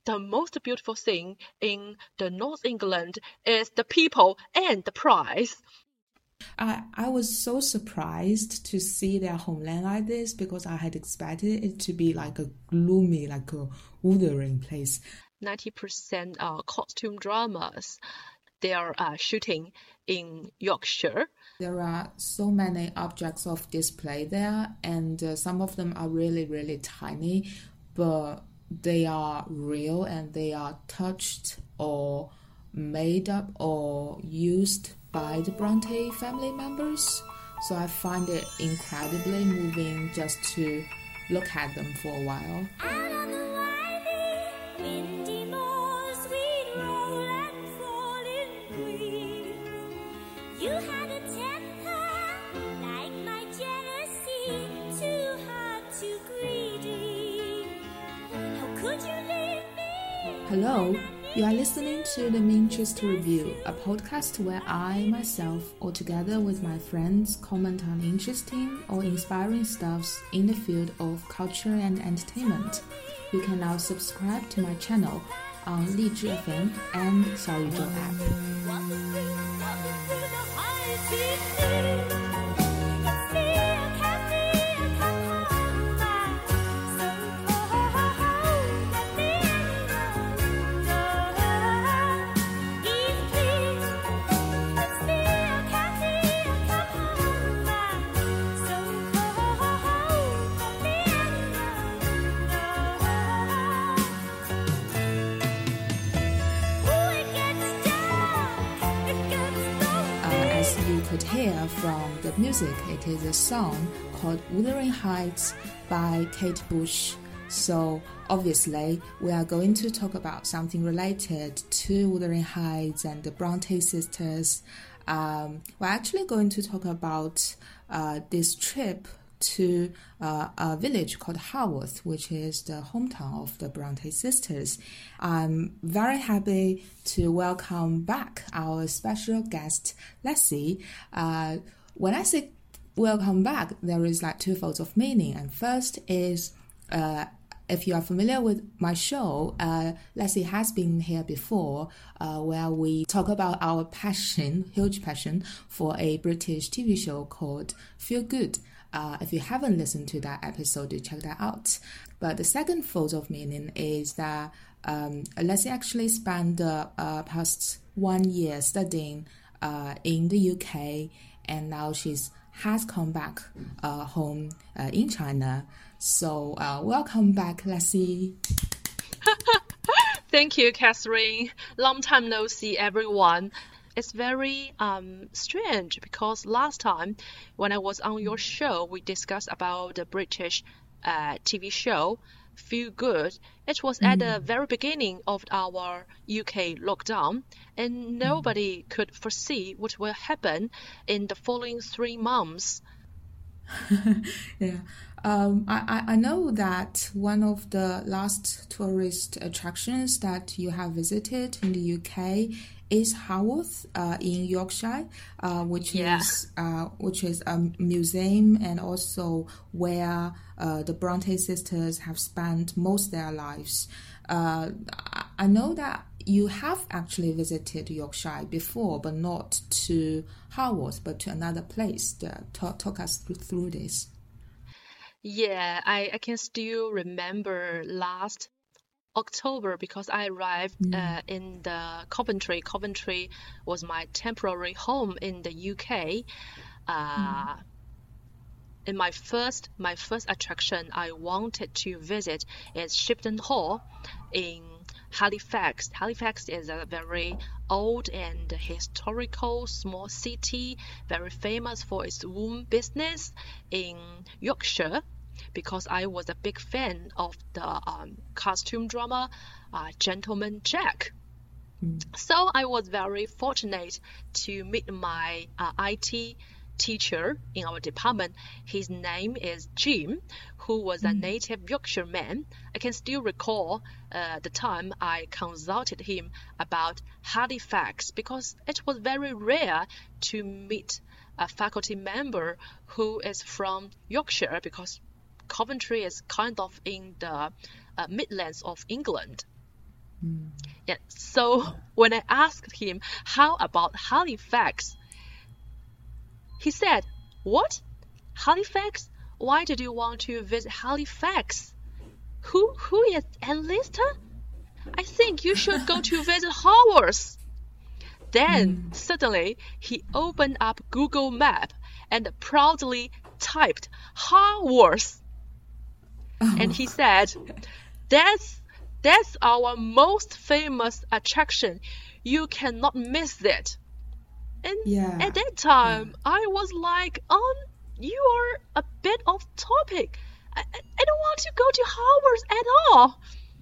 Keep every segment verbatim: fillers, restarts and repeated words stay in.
the most beautiful thing in the North England is the people and the price. I, I was so surprised to see their homeland like this because I had expected it to be like a gloomy, like a withering place. ninety percent uh, costume dramas, they are uh, shooting in Yorkshire. There are so many objects of display there, and uh, some of them are really, really tiny, but they are real and they are touched or made up or used by the Bronte family members. So I find it incredibly moving just to look at them for a while. Out on the winding, windy moors we roll and fall in green. You had a temper like my jealousy, too hard, too greedy. How could you leave me? Hello, you are listening to the Minchester Review, a podcast where I, myself, or together with my friends, comment on interesting or inspiring stuffs in the field of culture and entertainment. You can now subscribe to my channel on Lizhi F M and Xiaoyuzhou app. Walking through, walking through the high sea. It's me, I can't see, I come home back. So cold, let me know. Please, please. It's me, I can't see, I come home back. So cold, let me know. Ooh, it gets dark, it gets lonely. Uh, as you could hear from the music, it is a song called Wuthering Heights by Kate Bush. So obviously, we are going to talk about something related to Wuthering Heights and the Bronte sisters. Um, we're actually going to talk about uh, this trip to uh, a village called Haworth, which is the hometown of the Bronte sisters. I'm very happy to welcome back our special guest, Leslie. Uh, when I say welcome back, there is like two folds of meaning. And first is, uh, if you are familiar with my show, uh, Leslie has been here before, uh, where we talk about our passion, huge passion, for a British T V show called Feel Good. Uh, if you haven't listened to that episode, do check that out. But the second fold of meaning is that um, Leslie actually spent the uh, past one year studying uh, in the U K, and now she's has come back uh, home uh, in China. So uh, welcome back, Leslie. Thank you, Catherine. Long time no see, everyone. It's very um, strange because last time when I was on your show, we discussed about the British uh, T V show Feel Good. It was at the very beginning of our U K lockdown, and nobody could foresee what will happen in the following three months. Yeah, um, I, I I know that one of the last tourist attractions that you have visited in the U K is Haworth uh, in Yorkshire, uh, which Yeah. is uh, which is a museum and also where uh, the Bronte sisters have spent most of their lives. Uh, I- I know that you have actually visited Yorkshire before, but not to Haworth, but to another place. Uh, talk, talk us through, through this. Yeah, I, I can still remember last October because I arrived uh, in the Coventry. Coventry was my temporary home in the U K. Uh, in my first my first attraction I wanted to visit is Shipton Hall in Halifax. Halifax is a very old and historical small city, very famous for its wool business in Yorkshire. Because I was a big fan of the um, costume drama uh, Gentleman Jack. So I was very fortunate to meet my uh, I T teacher in our department. His name is Jim, who was a native Yorkshire man. I can still recall uh, the time I consulted him about Halifax because it was very rare to meet a faculty member who is from Yorkshire because Coventry is kind of in the uh, Midlands of England. Mm. Yeah, so when I asked him how about Halifax, he said, "What? Halifax? Why did you want to visit Halifax? Who who is Ann Lister? I think you should go to visit Haworth." Then suddenly he opened up Google Map and proudly typed Haworth. And he said, that's that's our most famous attraction. You cannot miss it. And Yeah. at that time, I was like, um, you are a bit off topic. I, I, I don't want to go to Haworth at all.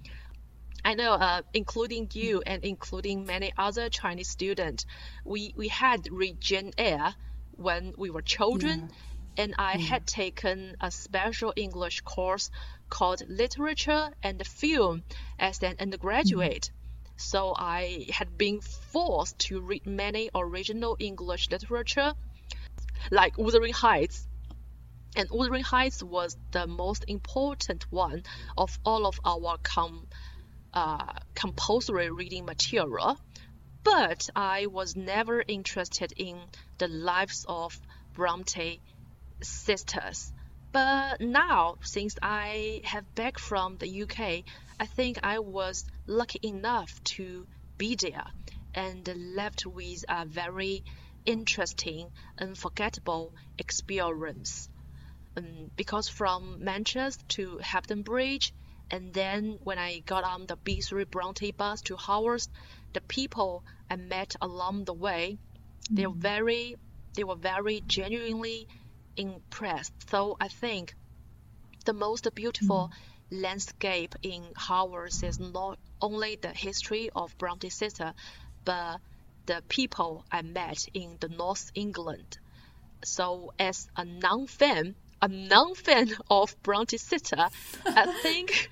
I know, uh, including you and including many other Chinese students, we, we had read Jane Eyre when we were children, and I had taken a special English course called Literature and Film as an undergraduate. So I had been forced to read many original English literature, like Wuthering Heights. And Wuthering Heights was the most important one of all of our com uh, compulsory reading material. But I was never interested in the lives of Bronte sisters. But now, since I have back from the U K, I think I was lucky enough to be there and left with a very interesting, unforgettable experience. Um, because from Manchester to Hampton Bridge, and then when I got on the B three Bronte bus to Haworth, the people I met along the way, they were very, they were very genuinely impressed. So I think the most beautiful mm. landscape in Haworth is not only the history of Bronte sister, but the people I met in the North England. So as a non-fan, a non-fan of Bronte sister, I think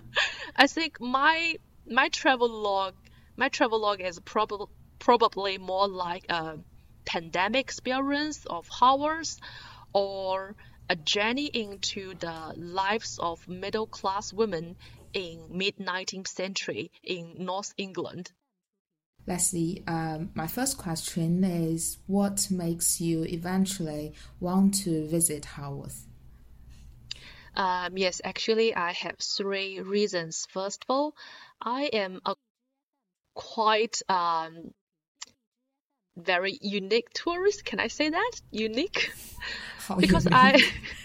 I think my my travel log my travel log is probably probably more like a pandemic experience of Haworth, or a journey into the lives of middle-class women in mid-nineteenth century in North England. Leslie, um, my first question is, what makes you eventually want to visit Haworth? Um, yes, actually, I have three reasons. First of all, I am a quite um, very unique tourist. Can I say that? Unique? How because unique? I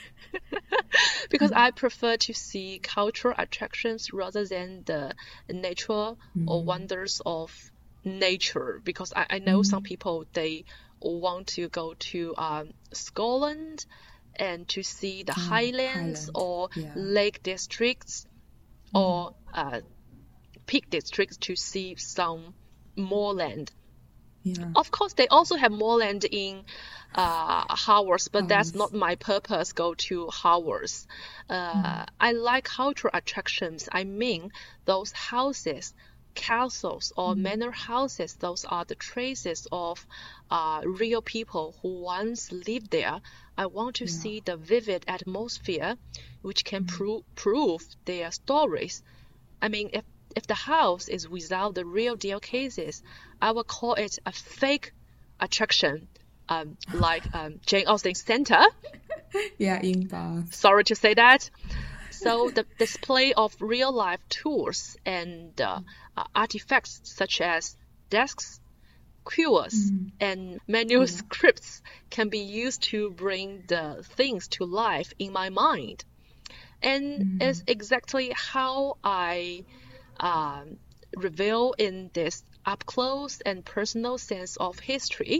because I prefer to see cultural attractions rather than the natural mm. or wonders of nature. Because I, I know mm. some people, they want to go to um, Scotland and to see the mm, highlands Highland. or yeah. lake districts mm. or uh, peak districts to see some moorland. Yeah. Of course, they also have moorland in uh, Haworth, but Haworth. That's not my purpose, go to Haworth. Uh, mm. I like cultural attractions. I mean, those houses, castles or mm. manor houses, those are the traces of uh, real people who once lived there. I want to yeah. see the vivid atmosphere which can mm. pro- prove their stories. I mean, if If the house is without the real deal cases, I will call it a fake attraction, um, like um, Jane Austen Center. Yeah, in Bath. Sorry to say that. So the display of real-life tools and uh, uh, artifacts such as desks, queues, mm. and manuscripts yeah. can be used to bring the things to life in my mind. And mm. it's exactly how I Um, reveal in this up-close and personal sense of history.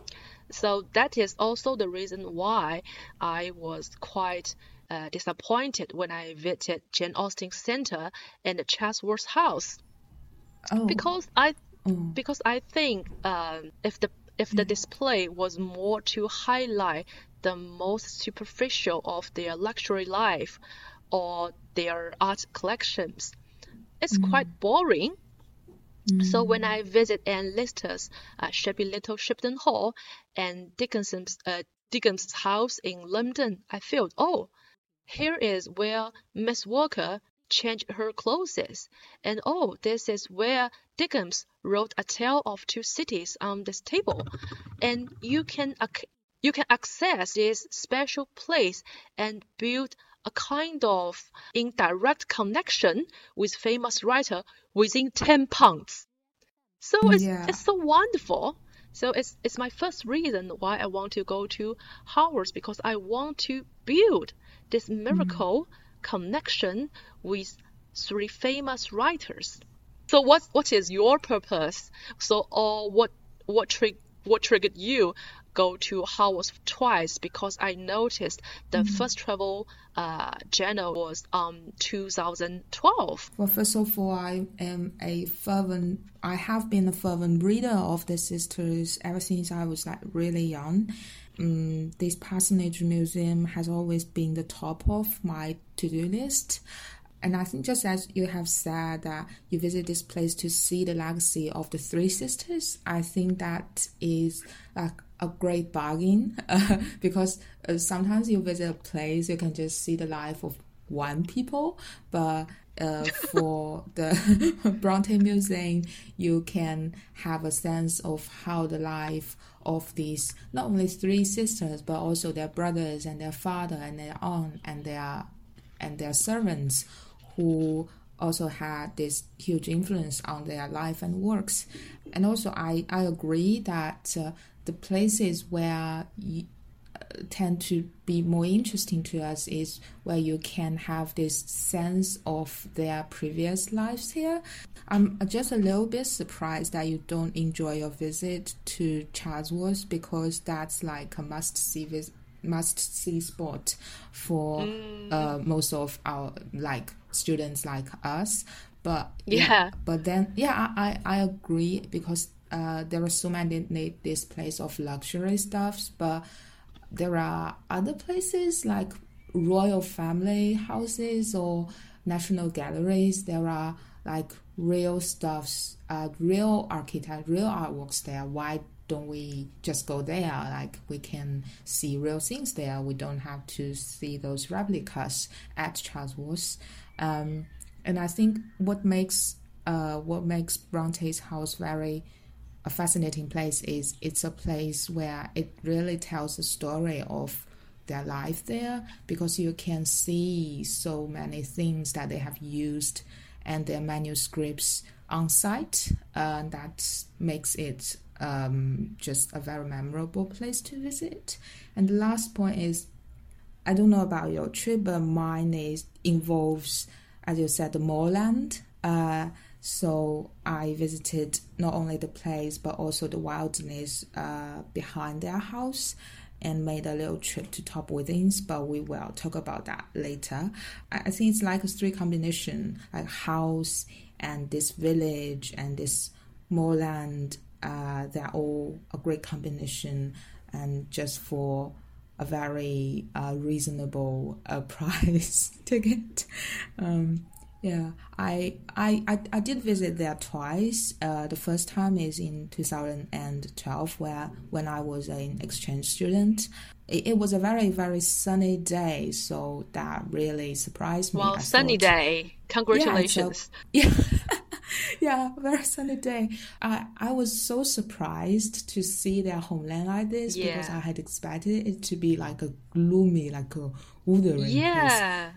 So that is also the reason why I was quite uh, disappointed when I visited Jane Austen Center and the Chatsworth House. Oh. Because I, oh. because I think um, if the if the display was more to highlight the most superficial of their luxury life or their art collections, it's mm. quite boring. Mm. So when I visit Ann Lister's uh, shabby little Shipton Hall and Dickinson's, uh, Dickens's house in London, I felt, oh, here is where Miss Walker change her clothes. And oh, this is where Dickens wrote A Tale of Two Cities on this table. And you can you can access this special place and build a kind of indirect connection with famous writer within ten pounds. So it's Yeah. it's so wonderful. So it's it's my first reason why I want to go to Hogwarts, because I want to build this miracle connection with three famous writers. So what what is your purpose? So or what what trig what triggered you go to Hogwarts twice? Because I noticed the first travel uh journal was um two thousand twelve. Well, first of all, I am a fervent, I have been a fervent reader of the sisters ever since I was like really young. Um, this Parsonage Museum has always been the top of my to-do list. And I think just as you have said that you visit this place to see the legacy of the three sisters, I think that is like a great bargain uh, because uh, sometimes you visit a place, you can just see the life of one people, but uh, for the Bronte Museum, you can have a sense of how the life of these, not only three sisters, but also their brothers and their father and their aunt and their and their servants, who also had this huge influence on their life and works. And also, I, I agree that uh, the places where you, uh, tend to be more interesting to us is where you can have this sense of their previous lives here. I'm just a little bit surprised that you don't enjoy your visit to Chatsworth, because that's like a must-see visit. must-see spot for Mm. uh, most of our like students like us. But Yeah. but then yeah, I, I, I agree, because uh, there are so many this place of luxury stuffs, but there are other places like royal family houses or national galleries. There are like real stuffs, uh, real architect, real artworks there. Why don't we just go there? Like, we can see real things there. We don't have to see those replicas at Chatsworth. Um, and I think what makes uh, what makes Bronte's house very a fascinating place is it's a place where it really tells the story of their life there, because you can see so many things that they have used and their manuscripts on site. Uh, that makes it um, just a very memorable place to visit. And the last point is, I don't know about your trip, but mine is involves, as you said, the moorland. Uh, so I visited not only the place but also the wilderness uh, behind their house, and made a little trip to Top Withens, but we will talk about that later. I think it's like a three combination, like house and this village and this moorland. Uh, they're all a great combination, and just for a very uh, reasonable uh, price ticket. Um, yeah, I, I I I did visit there twice. Uh, the first time is in two thousand twelve, where when I was an exchange student. It, it was a very very sunny day, so that really surprised me. Well, I sunny thought, day. Congratulations. Yeah, it's a, yeah. Yeah, very sunny day. I I was so surprised to see their homeland like this, Yeah. because I had expected it to be like a gloomy, like a wuthering place. Yeah.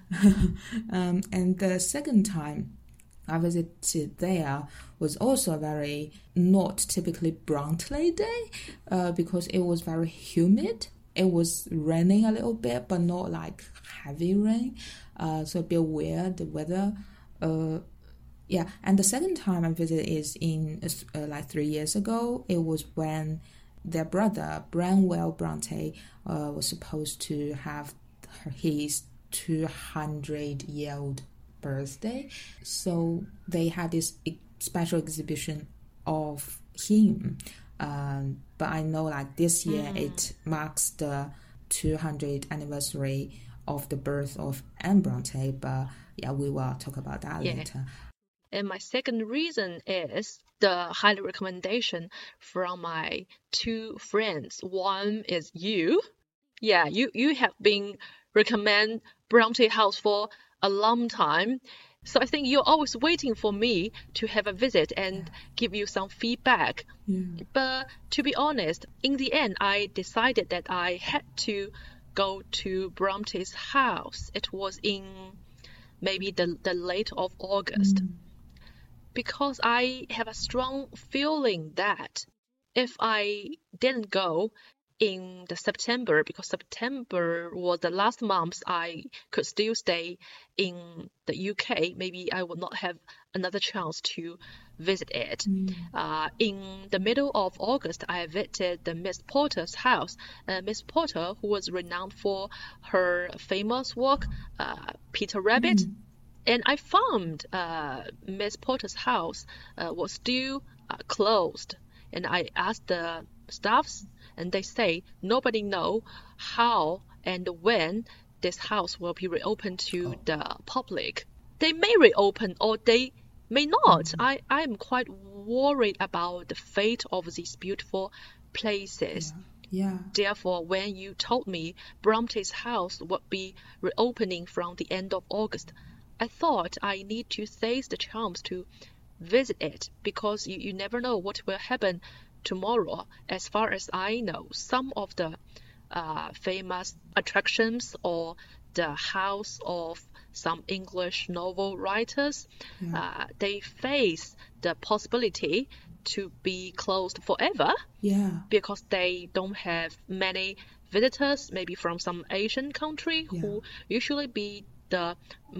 um, and the second time I visited there was also a very not typically Bronte day, uh, because it was very humid. It was raining a little bit, but not like heavy rain. Uh, so a bit weird, the weather. Uh, yeah, and the second time I visited is in uh, like three years ago. It was when their brother, Branwell Bronte, uh, was supposed to have his two hundred year old birthday. So they had this special exhibition of him. Um, but I know like this year mm. it marks the two hundredth anniversary of the birth of Anne Bronte. But yeah, we will talk about that Yeah. later. And my second reason is the highly recommendation from my two friends. One is you. Yeah, you, you have been recommend Bronte House for a long time. So I think you're always waiting for me to have a visit and Yeah. give you some feedback. Yeah. But to be honest, in the end, I decided that I had to go to Bronte's house. It was in maybe the, the late of August. Mm. Because I have a strong feeling that if I didn't go in the September, because September was the last month I could still stay in the U K, maybe I would not have another chance to visit it. Mm. Uh, in the middle of August, I visited the Miss Porter's house. Uh, Miss Porter, who was renowned for her famous work, uh, Peter Rabbit. Mm. And I found uh, Miss Porter's house uh, was still uh, closed. And I asked the staffs, and they say nobody know how and when this house will be reopened to Oh. the public. They may reopen or they may not. Mhm. I, I'm quite worried about the fate of these beautiful places. Yeah. Therefore, when you told me Bronte's house would be reopening from the end of August, I thought I need to seize the chance to visit it because you, you never know what will happen tomorrow. As far as I know, some of the uh, famous attractions or the house of some English novel writers, Yeah. uh, they face the possibility to be closed forever Yeah. because they don't have many visitors, maybe from some Asian country Yeah. who usually be the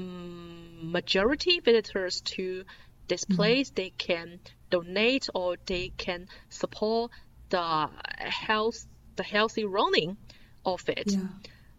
um, majority visitors to this place. They can donate or they can support the health, the healthy running of it. Yeah.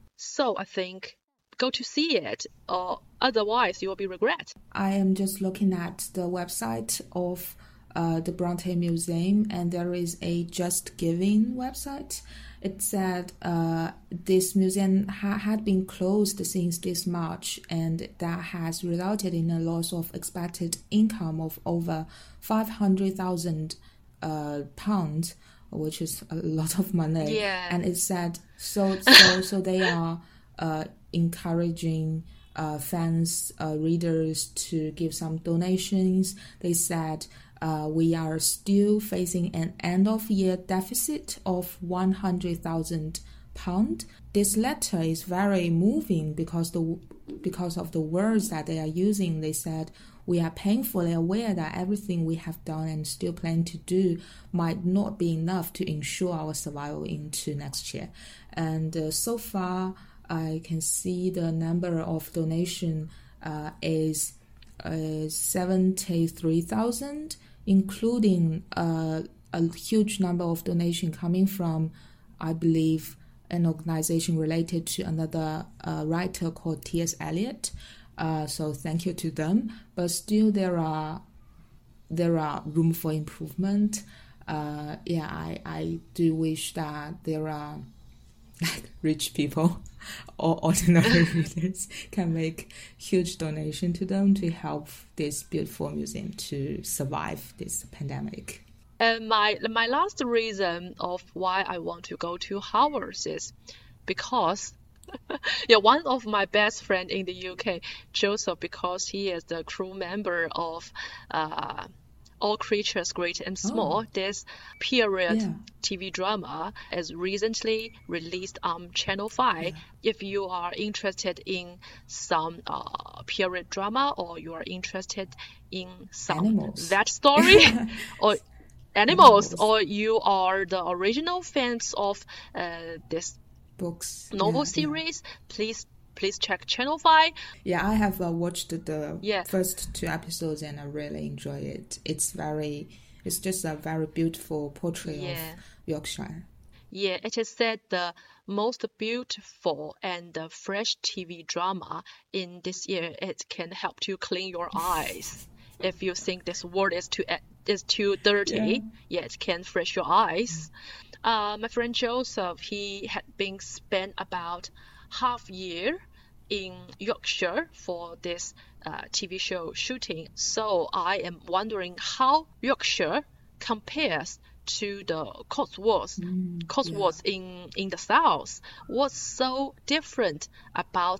So I think go to see it, or otherwise you will be regret. I am just looking at the website of uh, the Bronte Museum, and there is a Just Giving website. It said uh, this museum ha- had been closed since this March, and that has resulted in a loss of expected income of over five hundred thousand uh, pounds, which is a lot of money. Yeah. And it said so. So so they are uh, encouraging uh, fans, uh, readers to give some donations. They said uh, we are still facing an end-of-year deficit of one hundred thousand pounds. This letter is very moving because the because of the words that they are using. They said we are painfully aware that everything we have done and still plan to do might not be enough to ensure our survival into next year. And uh, so far, I can see the number of donation uh, is uh, seventy-three thousand, including uh, a huge number of donation coming from, I believe, an organization related to another uh, writer called T S Eliot. Uh, so thank you to them. But still, there are there are room for improvement. Uh, yeah, I, I do wish that there are like rich people or ordinary readers can make huge donation to them to help this beautiful museum to survive this pandemic. And my my last reason of why I want to go to Howard's is because yeah, one of my best friend in the U K, Joseph, because he is the crew member of uh, All Creatures Great and Small, Oh. this period Yeah. T V drama is recently released on Channel five. If you are interested in some uh, period drama or you are interested in some Animals. that story or animals, Animals. or you are the original fans of uh, this Books. novel yeah, series, please please check Channel five. Yeah, I have uh, watched the Yeah. first two episodes and I really enjoy it. It's very, it's just a very beautiful portrait Yeah. of Yorkshire. Yeah, it is said the most beautiful and the fresh T V drama in this year. It can help to clean your eyes. If you think this world is too is too dirty, Yeah. yeah, it can fresh your eyes. Uh, my friend Joseph, he had been spent about half year in Yorkshire for this uh, T V show shooting. So I am wondering how Yorkshire compares to the Cotswolds. Mm, Cotswolds in in the south. What's so different about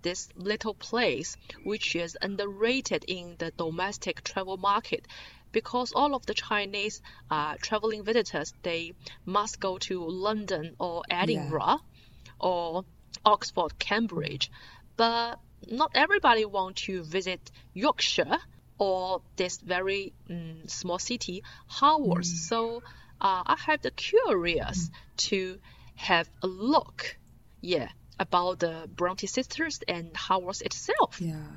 this little place which is underrated in the domestic travel market, because all of the Chinese uh, traveling visitors, they must go to London or Edinburgh yeah. or Oxford, Cambridge. But not everybody want to visit Yorkshire or this very um, small city, Haworth. Mm. So uh, I have the curious mm. to have a look, yeah, about the Bronte sisters and Haworth itself. Yeah.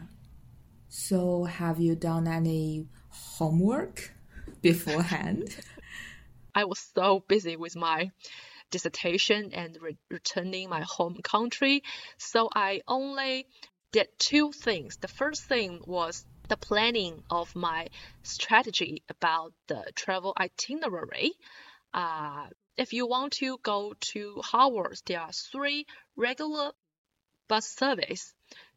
So have you done any homework beforehand? I was so busy with my dissertation and re- returning my home country, so I only did two things. The first thing was the planning of my strategy about the travel itinerary. Uh, if you want to go to Haworth, there are three regular bus service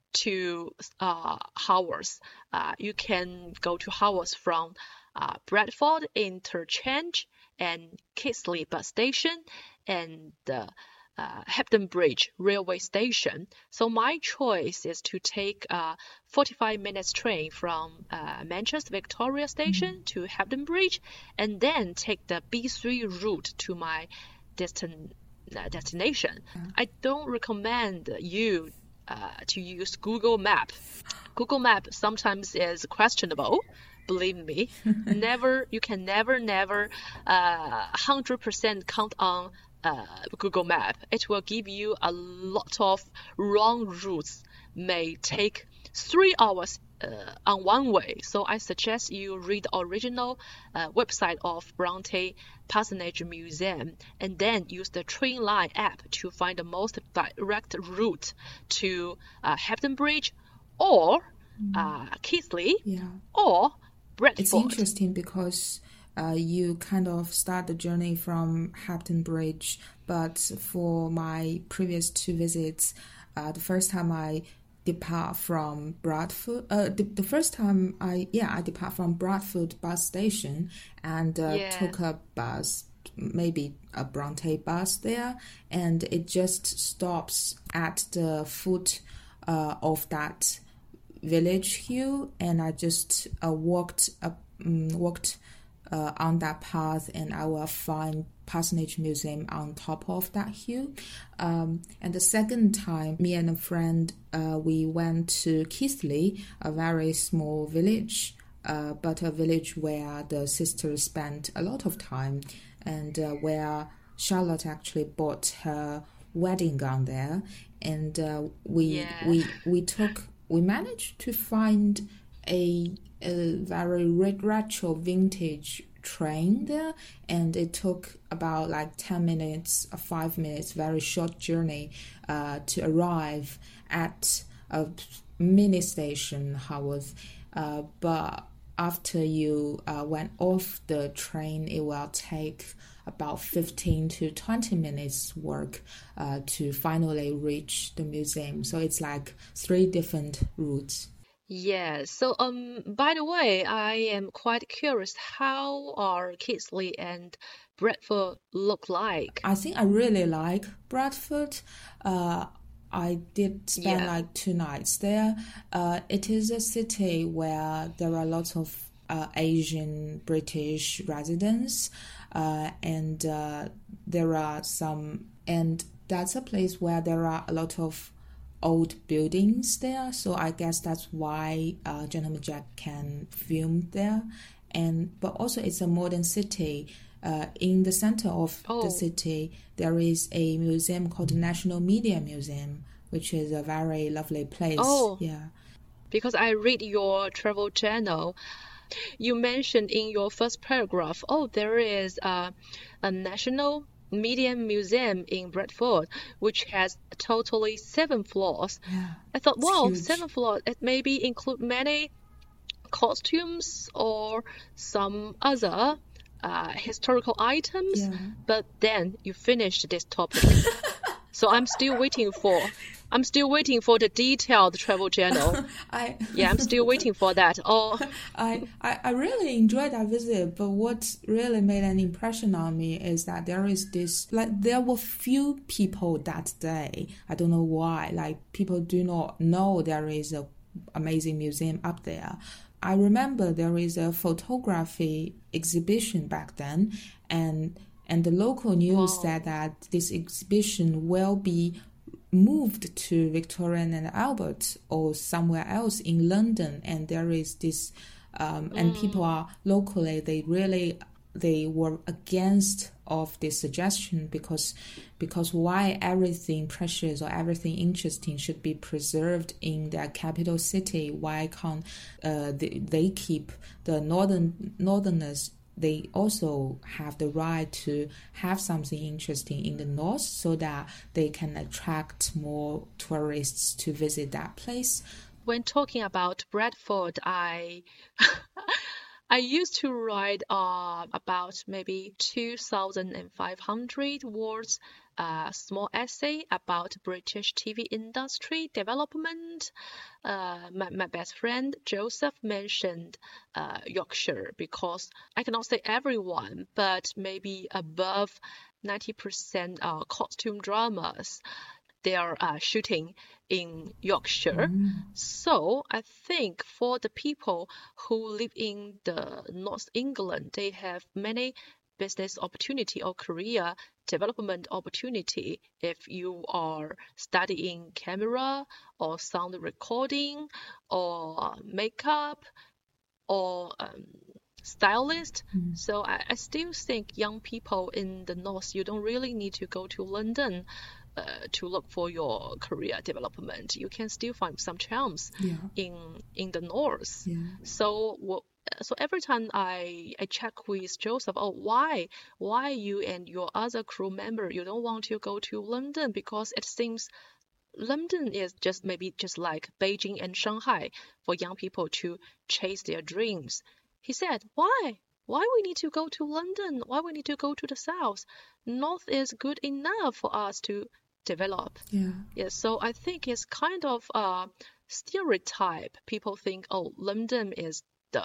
to uh, Haworth. Uh, you can go to Haworth from uh, Bradford Interchange and Keighley bus station and the uh, Hebden Bridge railway station. So my choice is to take a forty-five minutes train from uh, Manchester Victoria Station mm-hmm. to Hebden Bridge, and then take the B three route to my destin- uh, destination. Mm-hmm. I don't recommend you uh, to use Google Map. Google Map sometimes is questionable. Believe me, never you can never never uh, one hundred percent count on uh, Google Map. It will give you a lot of wrong routes, may take three hours uh, on one way. So I suggest you read the original uh, website of Bronte Parsonage Museum and then use the Trainline app to find the most direct route to uh, Hebden Bridge or uh, Keighley yeah. or Bradford. It's interesting because uh, you kind of start the journey from Hebden Bridge, but for my previous two visits, uh, the first time I depart from Bradford, uh, the, the first time I, yeah, I depart from Bradford bus station and uh, yeah. took a bus, maybe a Bronte bus there, and it just stops at the foot uh, of that village hill, and I just uh, walked up, um, walked uh, on that path, and I will find Parsonage Museum on top of that hill. Um, and the second time, me and a friend, uh, we went to Keighley, a very small village, uh, but a village where the sisters spent a lot of time, and uh, where Charlotte actually bought her wedding gown there, and uh, we yeah. we we took. We managed to find a, a very retro vintage train there, and it took about like ten minutes or five minutes, very short journey uh, to arrive at a mini station, Haworth. Uh, but after you uh, went off the train, it will take about fifteen to twenty minutes work uh, to finally reach the museum. So it's like three different routes. Yeah, so um, by the way, I am quite curious, how are Keighley and Bradford look like? I think I really like Bradford. Uh, I did spend yeah. like two nights there. Uh, it is a city where there are lots of uh, Asian British residents. Uh, and uh, there are some, and that's a place where there are a lot of old buildings there. So I guess that's why uh, Gentleman Jack can film there. And but also it's a modern city. Uh, in the center of oh. the city, there is a museum called the National Media Museum, which is a very lovely place. Oh, yeah. Because I read your travel journal. You mentioned in your first paragraph, oh, there is a, a National Media Museum in Bradford, which has totally seven floors. Yeah, I thought, wow, huge. seven floors. It maybe include many costumes or some other uh, historical items. Yeah. But then you finished this topic. So I'm still waiting for, I'm still waiting for the detailed travel journal. I Yeah, I'm still waiting for that. Oh, I, I, I really enjoyed that visit, but what really made an impression on me is that there is this, like, there were few people that day. I don't know why. Like, people do not know there is a amazing museum up there. I remember there is a photography exhibition back then, and and the local news Wow. said that this exhibition will be moved to Victoria and Albert or somewhere else in London, and there is this um, and people are locally, they really they were against of this suggestion because because why everything precious or everything interesting should be preserved in their capital city? Why can't uh, they, they keep the northern northerners? They also have the right to have something interesting in the north so that they can attract more tourists to visit that place. When talking about Bradford, I I used to write uh, about maybe two thousand five hundred words, a small essay about British T V industry development. Uh, my, my best friend Joseph mentioned uh, Yorkshire because I cannot say everyone, but maybe above ninety percent uh, costume dramas they are uh, shooting in Yorkshire. Mm. So I think for the people who live in the North England, they have many business opportunity or career development opportunity if you are studying camera or sound recording or makeup or um, stylist. Mm. So I, I still think young people in the North, you don't really need to go to London uh, to look for your career development. You can still find some charms Yeah. in in the North. Yeah. So wha- so every time I I check with Joseph, oh why why you and your other crew member you don't want to go to London because it seems London is just maybe just like Beijing and Shanghai for young people to chase their dreams. He said, why? Why we need to go to London? Why we need to go to the south? North is good enough for us to develop. Yeah. Yes, so I think it's kind of a stereotype. People think, oh, London is the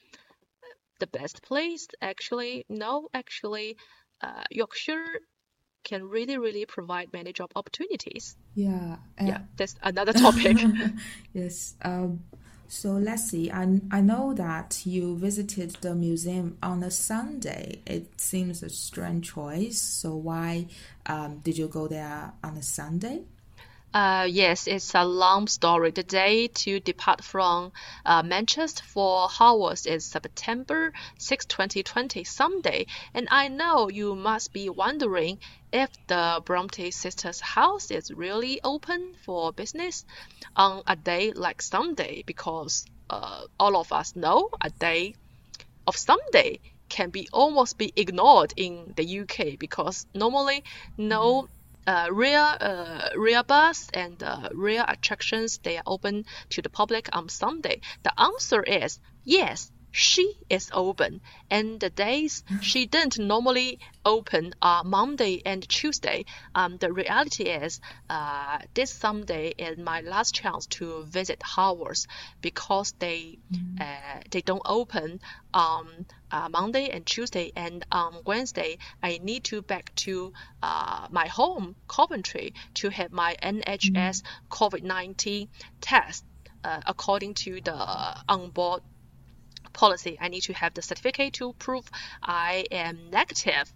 the best place. Actually, no, actually, uh, Yorkshire can really, really provide many job opportunities. Yeah. Uh, Yeah, that's another topic. Yes. Um, so let's see. I, I know that you visited the museum on a Sunday. It seems a strange choice. So why um, did you go there on a Sunday? Uh, yes, it's a long story. The day to depart from uh, Manchester for Hogwarts is September sixth, twenty twenty, Sunday. And I know you must be wondering if the Bronte sisters' house is really open for business on a day like Sunday, because uh, all of us know a day of Sunday can be almost be ignored in the U K because normally no uh, rear uh, rear bus and uh, rear attractions they are open to the public on Sunday. The answer is yes. She is open, and the days she didn't normally open are Monday and Tuesday. Um, the reality is, uh, this Sunday is my last chance to visit Hogwarts because they uh, they don't open on uh, Monday and Tuesday, and on Wednesday I need to back to uh, my home, Coventry, to have my N H S COVID nineteen test uh, according to the onboard policy. I need to have the certificate to prove I am negative.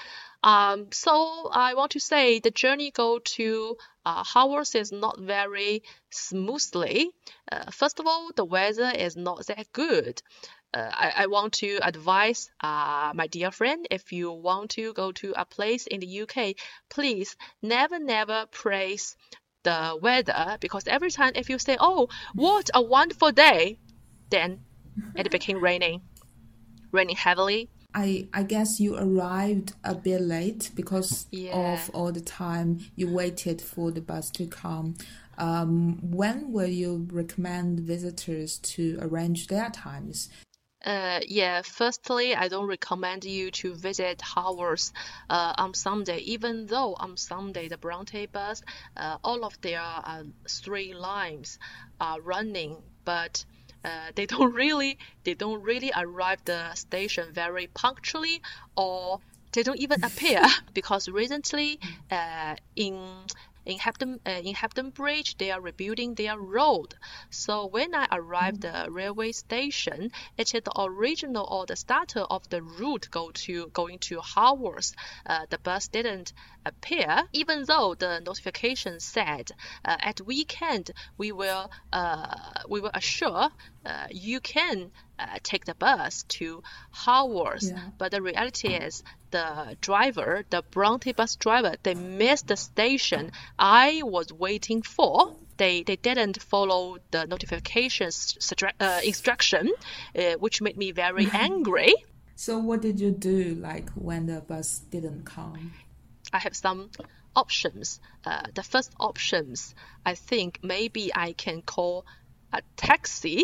Um, so I want to say the journey go to uh, Hogwarts is not very smoothly. Uh, first of all, the weather is not that good. Uh, I, I want to advise uh, my dear friend, if you want to go to a place in the U K, please never, never praise the weather, because every time if you say, oh, what a wonderful day, then it became raining, raining heavily. I, I guess you arrived a bit late because Yeah. of all the time you waited for the bus to come. Um, when will you recommend visitors to arrange their times? Uh, yeah, firstly, I don't recommend you to visit Harvard's uh, on Sunday, even though on Sunday the Bronte bus, uh, all of their uh, three lines are running, but uh, they don't really they don't really arrive the station very punctually, or they don't even appear because recently uh, in in Hampton uh, in Hampton Bridge they are rebuilding their road. So when I arrived at the railway station, it is the original or the starter of the route go to going to Haworth. Uh, the bus didn't appear, even though the notification said uh, at weekend we will uh, we will assure uh, you can uh, take the bus to Haworth. Yeah. But the reality is the driver, the Bronte bus driver, they missed the station I was waiting for. They they didn't follow the notifications uh, instruction, uh, which made me very angry. So what did you do like when the bus didn't come? I have some options. Uh, the first options, I think maybe I can call a taxi.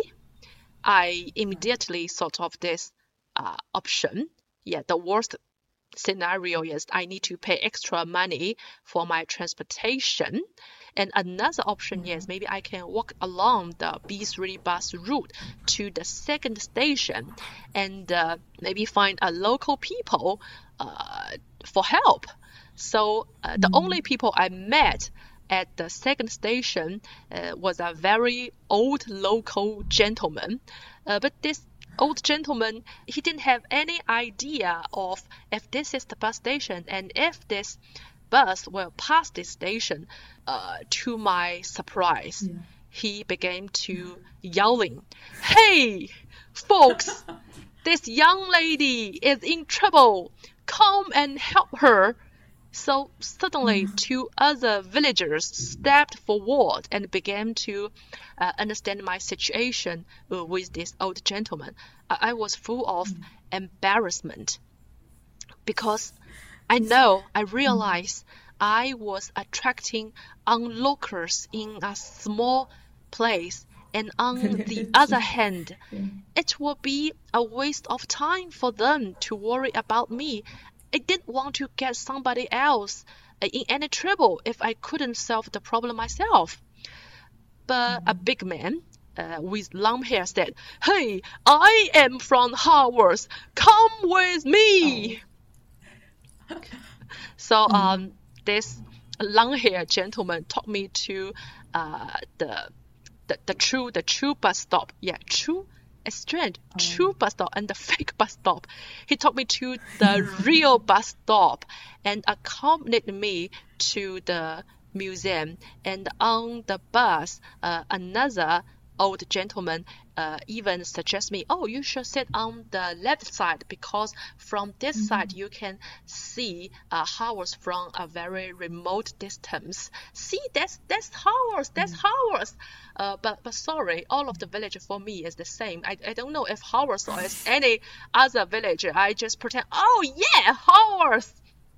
I immediately thought of this uh, option. Yeah, the worst scenario is I need to pay extra money for my transportation. And another option is maybe I can walk along the B three bus route to the second station and uh, maybe find a local people uh, for help. So uh, the only people I met at the second station uh, was a very old local gentleman. Uh, but this old gentleman, he didn't have any idea of if this is the bus station and if this bus will pass this station. Uh, to my surprise, Yeah. he began to yelling, "Hey, folks, this young lady is in trouble. Come and help her." So suddenly two other villagers stepped forward and began to uh, understand my situation uh, with this old gentleman. I, I was full of embarrassment because I know, I realized I was attracting onlookers in a small place. And on the other hand, it would be a waste of time for them to worry about me. I didn't want to get somebody else in any trouble if I couldn't solve the problem myself. But a big man uh, with long hair said, "Hey, I am from Haworth. Come with me." Oh. So um, this long-haired gentleman took me to uh, the, the the true the true bus stop. Yeah, true. It's strange. Oh. True bus stop and the fake bus stop. He took me to the real bus stop and accompanied me to the museum. And on the bus, uh, another old gentleman uh, even suggests me, "Oh, you should sit on the left side because from this mm-hmm. side you can see uh, Haworth from a very remote distance. See, that's that's Haworth, that's mm-hmm. Haworth." Uh, but but sorry, all of the village for me is the same. I, I don't know if Haworth or is any other village. I just pretend, "Oh yeah, Haworth."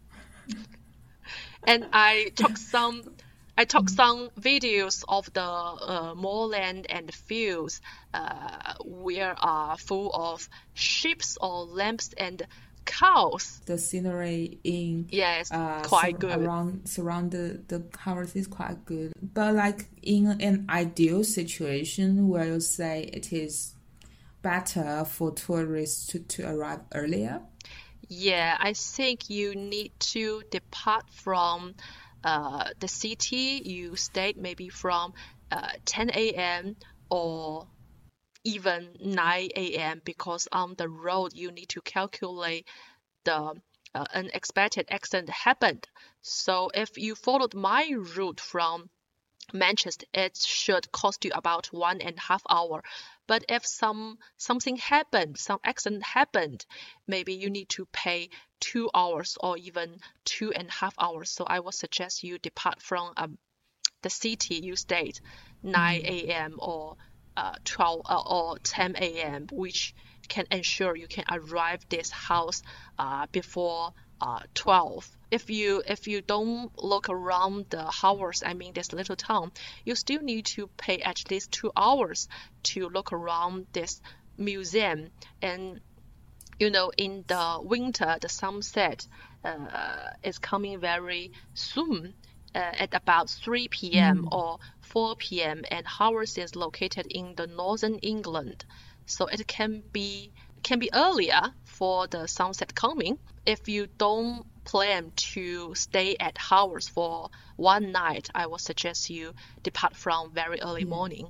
And I took some. I took some videos of the uh, moorland and fields uh, where are full of sheep or lambs and cows. The scenery in yes, uh, quite sur- good. around surround the, the Haworth is quite good. But like in an ideal situation where you say it is better for tourists to, to arrive earlier? Yeah, I think you need to depart from Uh, the city you stayed maybe from uh, ten a.m. or even nine a.m. because on the road you need to calculate the uh, unexpected accident happened. So if you followed my route from Manchester, it should cost you about one and a half hour. But if some something happened, some accident happened, maybe you need to pay two hours or even two and a half hours. So I would suggest you depart from um, the city you stayed nine a.m. or uh, twelve uh, or ten a.m., which can ensure you can arrive this house uh, before uh, twelve. If you if you don't look around the Haworth, I mean this little town, you still need to pay at least two hours to look around this museum, and you know, in the winter, the sunset uh, is coming very soon uh, at about three p.m. Mm. or four p.m. and Haworth is located in the northern England, so it can be can be earlier for the sunset coming. If you don't plan to stay at Haworth for one night, I would suggest you depart from very early Yeah. morning.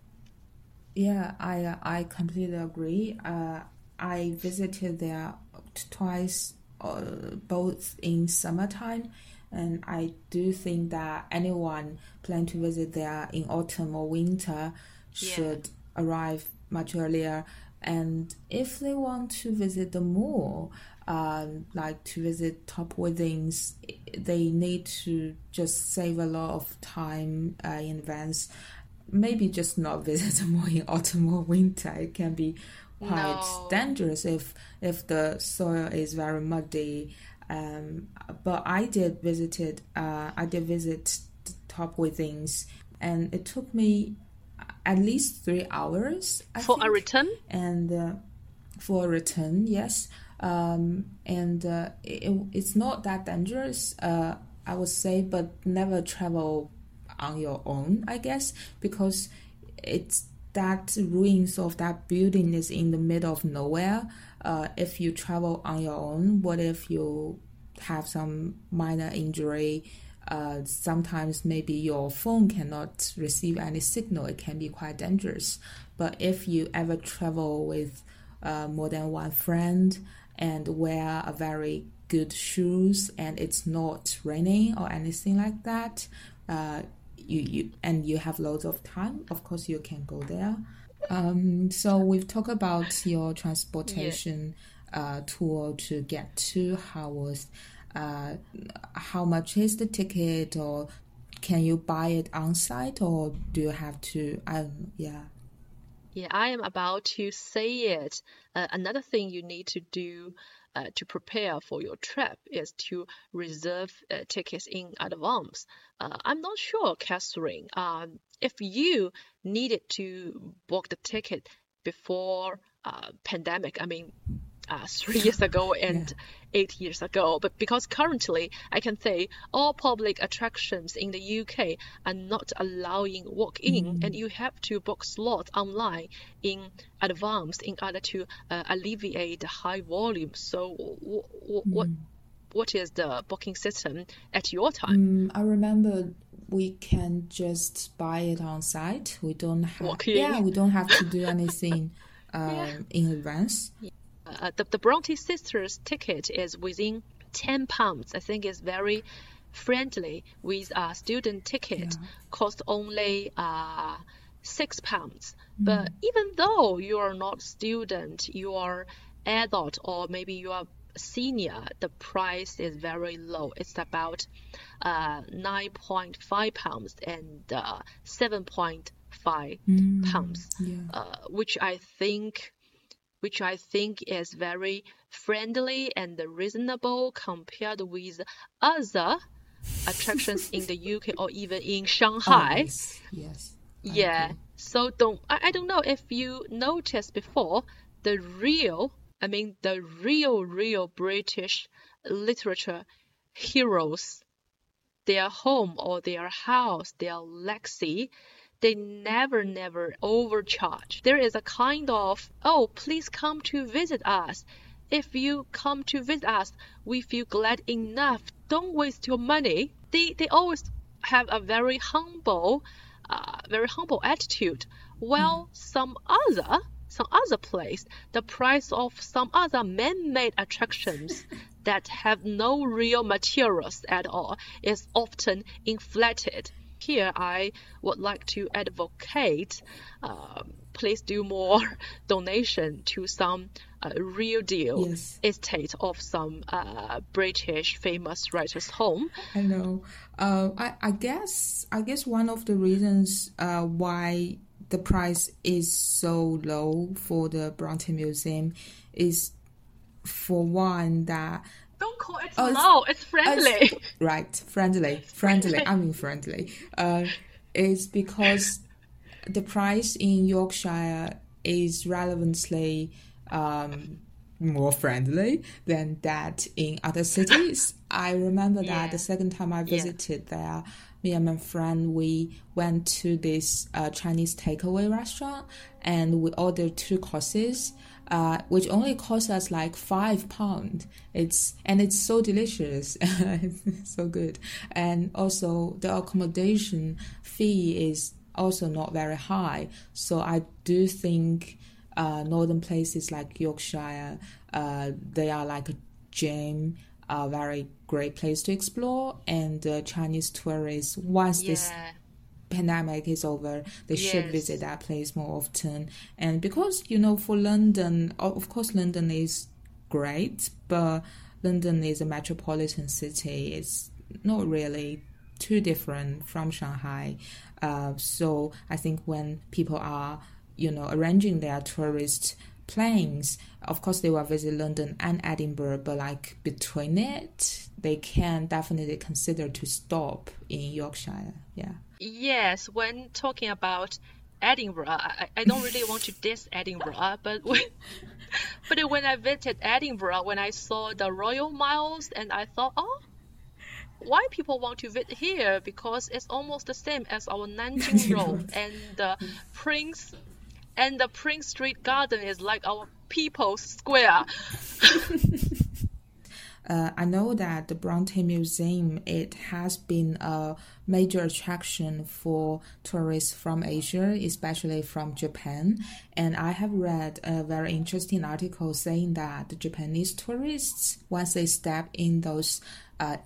Yeah, I uh, I completely agree. Uh, I visited there twice, uh, both in summertime, and I do think that anyone planning to visit there in autumn or winter should arrive much earlier. And if they want to visit the mall, um, like to visit Top Withings, they need to just save a lot of time uh, in advance. Maybe just not visit the mall in autumn or winter. It can be quite No. dangerous if if the soil is very muddy. Um, but I did visited. Uh, I did visit Top Withings, and it took me at least three hours. I For think. a return? And uh, for a return, yes. Um, and uh, it, it's not that dangerous, uh, I would say, but never travel on your own, I guess, because it's that ruins of that building is in the middle of nowhere. Uh, if you travel on your own, what if you have some minor injury? Uh, sometimes maybe your phone cannot receive any signal. It can be quite dangerous. But if you ever travel with uh, more than one friend and wear a very good shoes and it's not raining or anything like that, uh, you, you and you have loads of time, of course you can go there. Um, so we've talked about your transportation uh, tour to get to Haworth. Uh, how much is the ticket, or can you buy it on site, or do you have to? I don't know, yeah. Yeah, I am about to say it. Uh, another thing you need to do uh, to prepare for your trip is to reserve uh, tickets in advance. Uh, I'm not sure, Catherine, um, if you needed to book the ticket before uh, pandemic, I mean, uh, three years ago and Yeah. eight years ago, but because currently I can say all public attractions in the U K are not allowing walk-in, and you have to book slots online in advance in order to uh, alleviate the high volume. So, w- w- what what is the booking system at your time? Mm, I remember we can just buy it on site. We don't have. Walk in. Yeah, we don't have to do anything um, Yeah. in advance. Uh, the, the Bronte sisters ticket is within ten pounds. I think it's very friendly with a student ticket, Yeah. cost only uh, six pounds. But even though you are not student, you are adult, or maybe you are senior, the price is very low. It's about uh, nine point five pounds and uh, seven point five pounds, Yeah. uh, which I think which I think is very friendly and reasonable compared with other attractions in the U K or even in Oh, Shanghai. yes. Yes. I Yeah. agree. So don't I, I don't know if you noticed before, the real I mean the real real British literature heroes, their home or their house, their legacy, they never, never overcharge. There is a kind of, oh, please come to visit us. If you come to visit us, we feel glad enough. Don't waste your money. They, they always have a very humble, uh, very humble attitude. Well, some other, some other place, the price of some other man-made attractions that have no real materials at all is often inflated. Here, I would like to advocate, uh, please do more donation to some uh, real deal Yes. estate of some uh, British famous writer's home. I know. Uh, I, I guess I guess one of the reasons uh, why the price is so low for the Bronte Museum is, for one, that Don't call it Oh, it's- low, it's friendly. right, friendly, friendly. I mean friendly. Uh, is because the price in Yorkshire is relevantly um, more friendly than that in other cities. I remember that Yeah. the second time I visited there, me and my friend, we went to this uh, Chinese takeaway restaurant and we ordered two courses, uh, which only cost us like five pounds. It's and it's so delicious, it's so good, and also the accommodation fee is also not very high. So I do think uh, northern places like Yorkshire, uh, they are like a gem, a very great place to explore. And uh, Chinese tourists, once this Yeah. pandemic is over, they should Yes. visit that place more often. And because, you know, for London, o- of course, London is great, but London is a metropolitan city. It's not really too different from Shanghai. Uh, so I think when people are, you know, arranging their tourist plans, of course they will visit London and Edinburgh, but like between it, they can definitely consider to stop in Yorkshire. Yeah. Yes, when talking about Edinburgh, I, I don't really want to diss Edinburgh, but when, but when I visited Edinburgh, when I saw the Royal Miles, and I thought, oh, why people want to visit here? Because it's almost the same as our Nanjing Road, and the Prince and the Prince Street Garden is like our People's Square. Uh, I know that the Bronte Museum, it has been a major attraction for tourists from Asia, especially from Japan. And I have read a very interesting article saying that the Japanese tourists, once they step in those uh,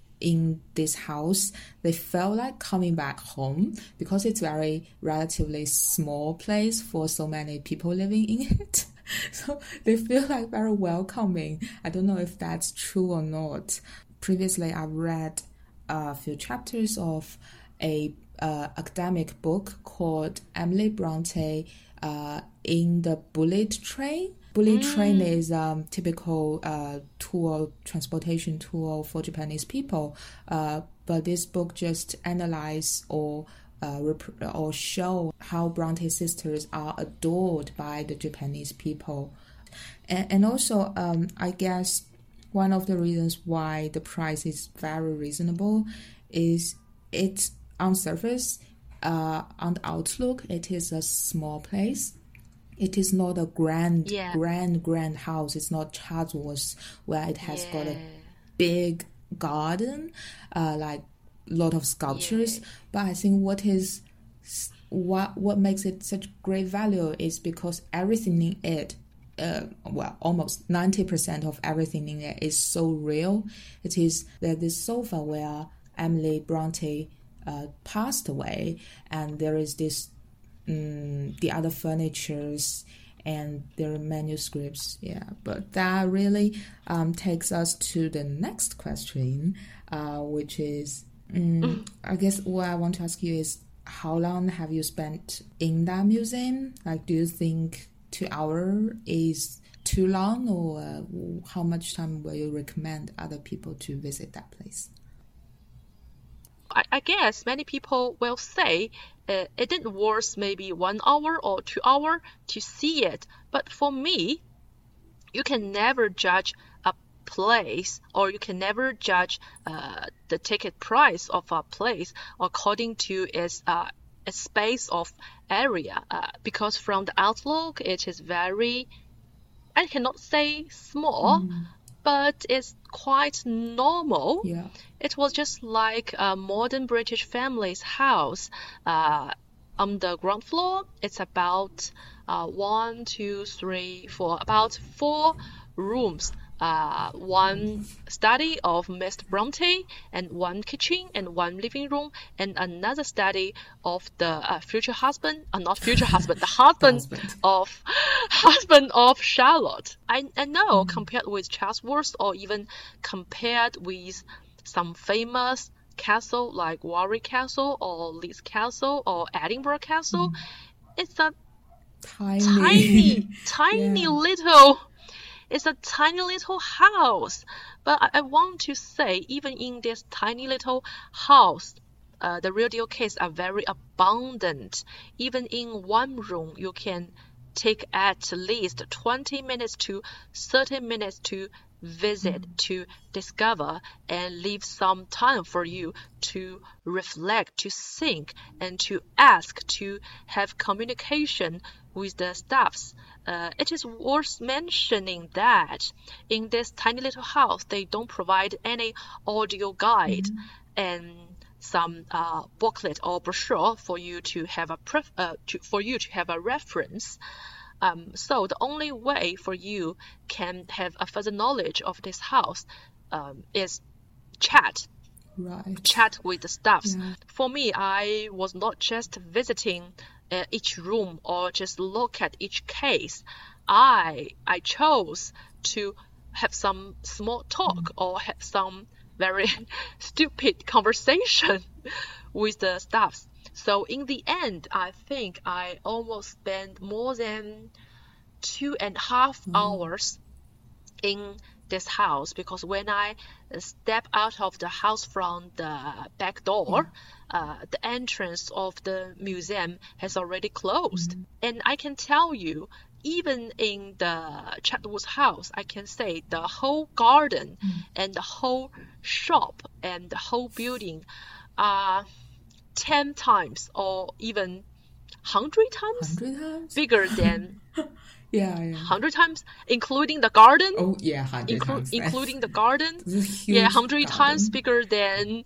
in this house, they felt like coming back home because it's very relatively small place for so many people living in it. So they feel like very welcoming. I don't know if that's true or not. Previously, I read a few chapters of a uh, academic book called Emily Bronte uh, in the Bullet Train. Bullet mm. train is um typical uh, tour, transportation tour for Japanese people. Uh, but this book just analyze or Uh, rep- or show how Bronte sisters are adored by the Japanese people. And, and also, um, I guess one of the reasons why the price is very reasonable is it's on surface, uh, on the outlook, it is a small place. It is not a grand, Yeah. grand, grand house. It's not Chatsworth where it has got a Yeah. big garden, uh, like lot of sculptures. Yeah. But I think what is what what makes it such great value is because everything in it, uh, well, almost ninety percent of everything in it is so real. It is that this sofa where Emily Bronte uh, passed away, and there is this um, the other furnitures and their manuscripts. Yeah, but that really um, takes us to the next question, uh, which is, um, I guess what I want to ask you is, how long have you spent in that museum? Like, do you think two hours is too long, or uh, how much time will you recommend other people to visit that place? I, I guess many people will say uh, it didn't worth maybe one hour or two hour to see it. But for me, you can never judge a place, or you can never judge uh, the ticket price of a place according to its uh, its space of area. Uh, because from the outlook, it is very, I cannot say small, mm. but it's quite normal. Yeah. It was just like a modern British family's house. Uh, on the ground floor, it's about uh, one, two, three, four, about four rooms. Uh, one study of Mister Bronte, and one kitchen, and one living room, and another study of the uh, future husband, uh, not future husband, the husband, husband of husband of Charlotte. I, I know, mm. compared with Chatsworth, or even compared with some famous castle like Warwick Castle or Leeds Castle or Edinburgh Castle, mm. it's a tiny, tiny, tiny yeah. little. It's a tiny little house, but I, I want to say, even in this tiny little house, uh, the real deal cakes are very abundant. Even in one room, you can take at least twenty minutes to thirty minutes to visit, mm. to discover, and leave some time for you to reflect, to think, and to ask, to have communication with the staffs. Uh, it is worth mentioning that in this tiny little house, they don't provide any audio guide mm. and some uh, booklet or brochure for you to have a pref- uh, to, for you to have a reference. Um, so the only way for you can have a further knowledge of this house um, is chat. Right. Chat with the staffs. Yeah. For me, I was not just visiting uh, each room or just look at each case. I I chose to have some small talk mm. or have some very stupid conversation with the staffs. So in the end, I think I almost spent more than two and a half mm. hours in this house, because when I step out of the house from the back door, yeah. uh, the entrance of the museum has already closed. Mm. And I can tell you, even in the Chatwood's house, I can say the whole garden mm. and the whole shop and the whole building are ten times or even hundred times, times? bigger than yeah, yeah. hundred times, including the garden. Oh yeah, hundred inclu- times. Including the garden. Yeah, hundred times bigger than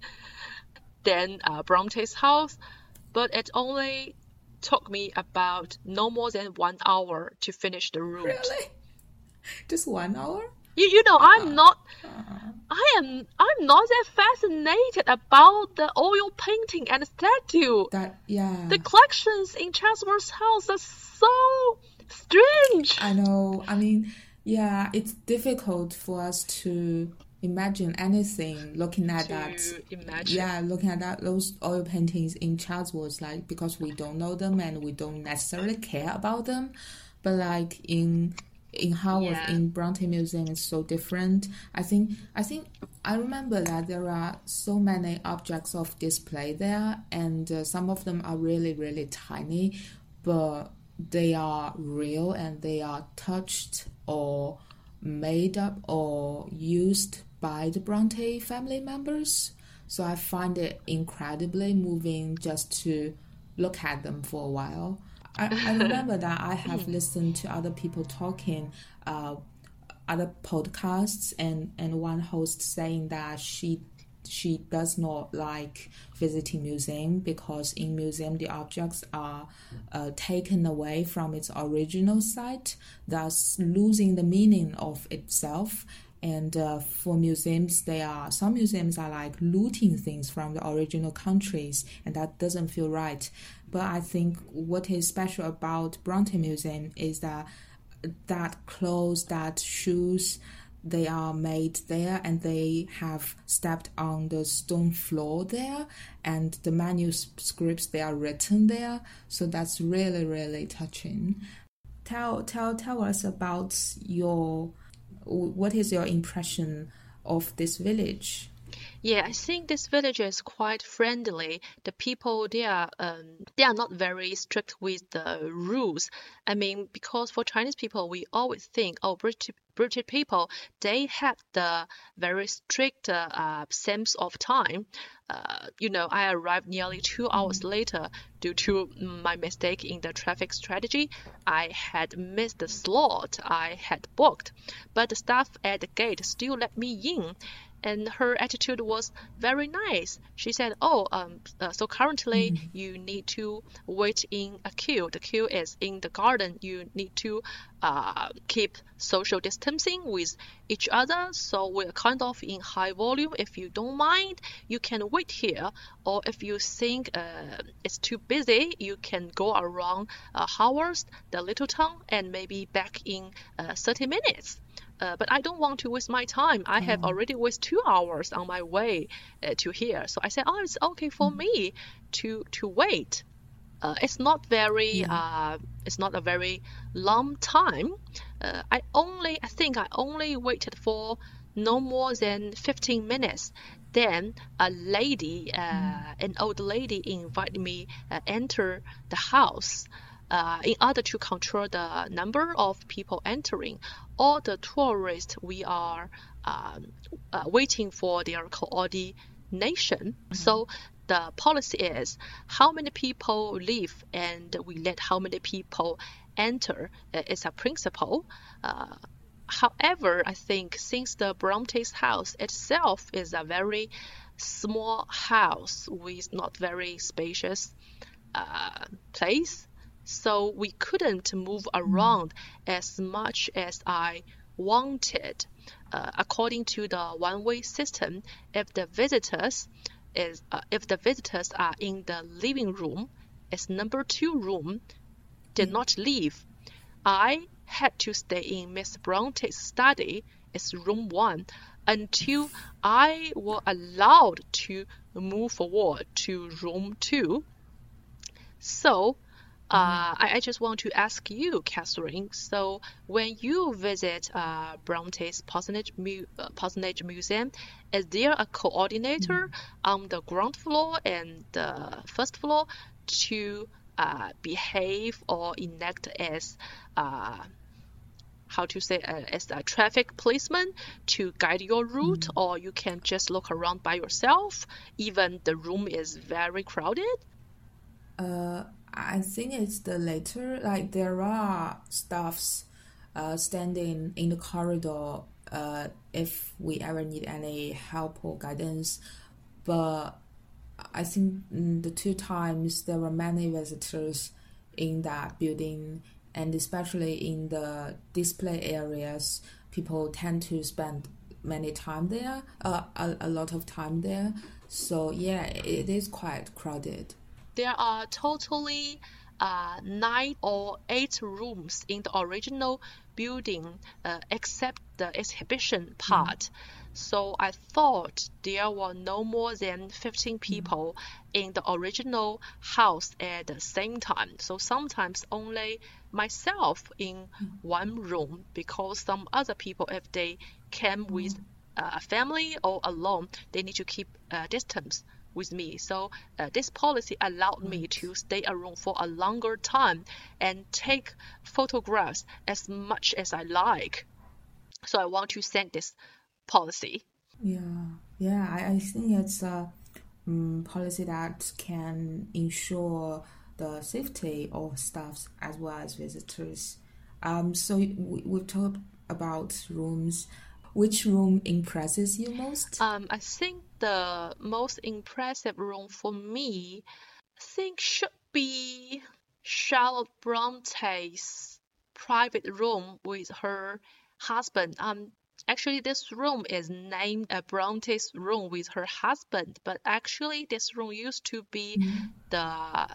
than uh, Bronte's house, but it only took me about no more than one hour to finish the route. Really? Just one hour? You you know, uh, I'm not uh, I am I'm not that fascinated about the oil painting and statue. That yeah. The collections in Chatsworth's house are so strange. I know. I mean, yeah, it's difficult for us to imagine anything looking at to that. Imagine. Yeah, looking at that those oil paintings in Chatsworth, like, because we don't know them and we don't necessarily care about them. But like in in Haworth, yeah. in Bronte Museum, it's so different. I think I think I remember that there are so many objects of display there, and uh, some of them are really really tiny, but they are real and they are touched or made up or used by the Bronte family members. So I find it incredibly moving just to look at them for a while. I, I remember that I have listened to other people talking, uh, other podcasts, and, and one host saying that she she does not like visiting museum because in museum the objects are uh, taken away from its original site, thus losing the meaning of itself. And uh, for museums, they are some museums are like looting things from the original countries, and that doesn't feel right. But I think what is special about Bronte Museum is that that clothes, that shoes, they are made there and they have stepped on the stone floor there, and the manuscripts, they are written there. So that's really, really touching. Tell, tell, tell us about your, what is your impression of this village? Yeah, I think this village is quite friendly. The people, they are um, they are not very strict with the rules. I mean, because for Chinese people, we always think, oh, British British people, they have the very strict uh, uh, sense of time. Uh, you know, I arrived nearly two hours later due to my mistake in the traffic strategy. I had missed the slot I had booked, but the staff at the gate still let me in. And her attitude was very nice. She said, oh, um, uh, so currently mm. you need to wait in a queue. The queue is in the garden. You need to uh, keep social distancing with each other. So we're kind of in high volume. If you don't mind, you can wait here. Or if you think uh, it's too busy, you can go around uh, Haworth, the little town, and maybe back in uh, thirty minutes. Uh, but I don't want to waste my time. I have mm. already wasted two hours on my way uh, to here. So I said, oh, it's okay for mm. me to to wait. Uh, it's not very, yeah. uh, it's not a very long time. Uh, I only, I think I only waited for no more than fifteen minutes. Then a lady, uh, mm. an old lady invited me uh, enter the house. uh, in order to control the number of people entering, all the tourists, we are um, uh, waiting for their coordination. So the policy is how many people leave and we let how many people enter. Uh, It's a principle. Uh, however, I think since the Bronte's house itself is a very small house with not very spacious uh, place, so we couldn't move around as much as I wanted. Uh, according to the one-way system, if the visitors is uh, if the visitors are in the living room, as number two room did not leave, I had to stay in Miss Bronte's study as room one until I was allowed to move forward to room two. So uh, I, I just want to ask you, Catherine, so when you visit uh, Bronte's Parsonage, Mu- uh, Parsonage Museum, is there a coordinator on the ground floor and the first floor to uh, behave or enact as uh, how to say uh, as a traffic policeman to guide your route, or you can just look around by yourself even the room is very crowded? Uh, I think it's the latter. Like there are staffs uh, standing in the corridor uh, if we ever need any help or guidance. But I think mm, the two times there were many visitors in that building, and especially in the display areas, people tend to spend many time there, uh, a, a lot of time there. So yeah, it is quite crowded. There are totally uh, nine or eight rooms in the original building, uh, except the exhibition part. So I thought there were no more than fifteen people in the original house at the same time. So sometimes only myself in one room, because some other people, if they came with a family or alone, they need to keep a distance with me. So uh, this policy allowed me to stay a room for a longer time and take photographs as much as I like. So I want to thank this policy. Yeah, yeah, I, I think it's a um, policy that can ensure the safety of staffs as well as visitors. Um, so we, we've talked about rooms. Which room impresses you most? Um, I think the most impressive room for me, I think should be Charlotte Bronte's private room with her husband. Um, actually, this room is named a Bronte's room with her husband, but actually, this room used to be the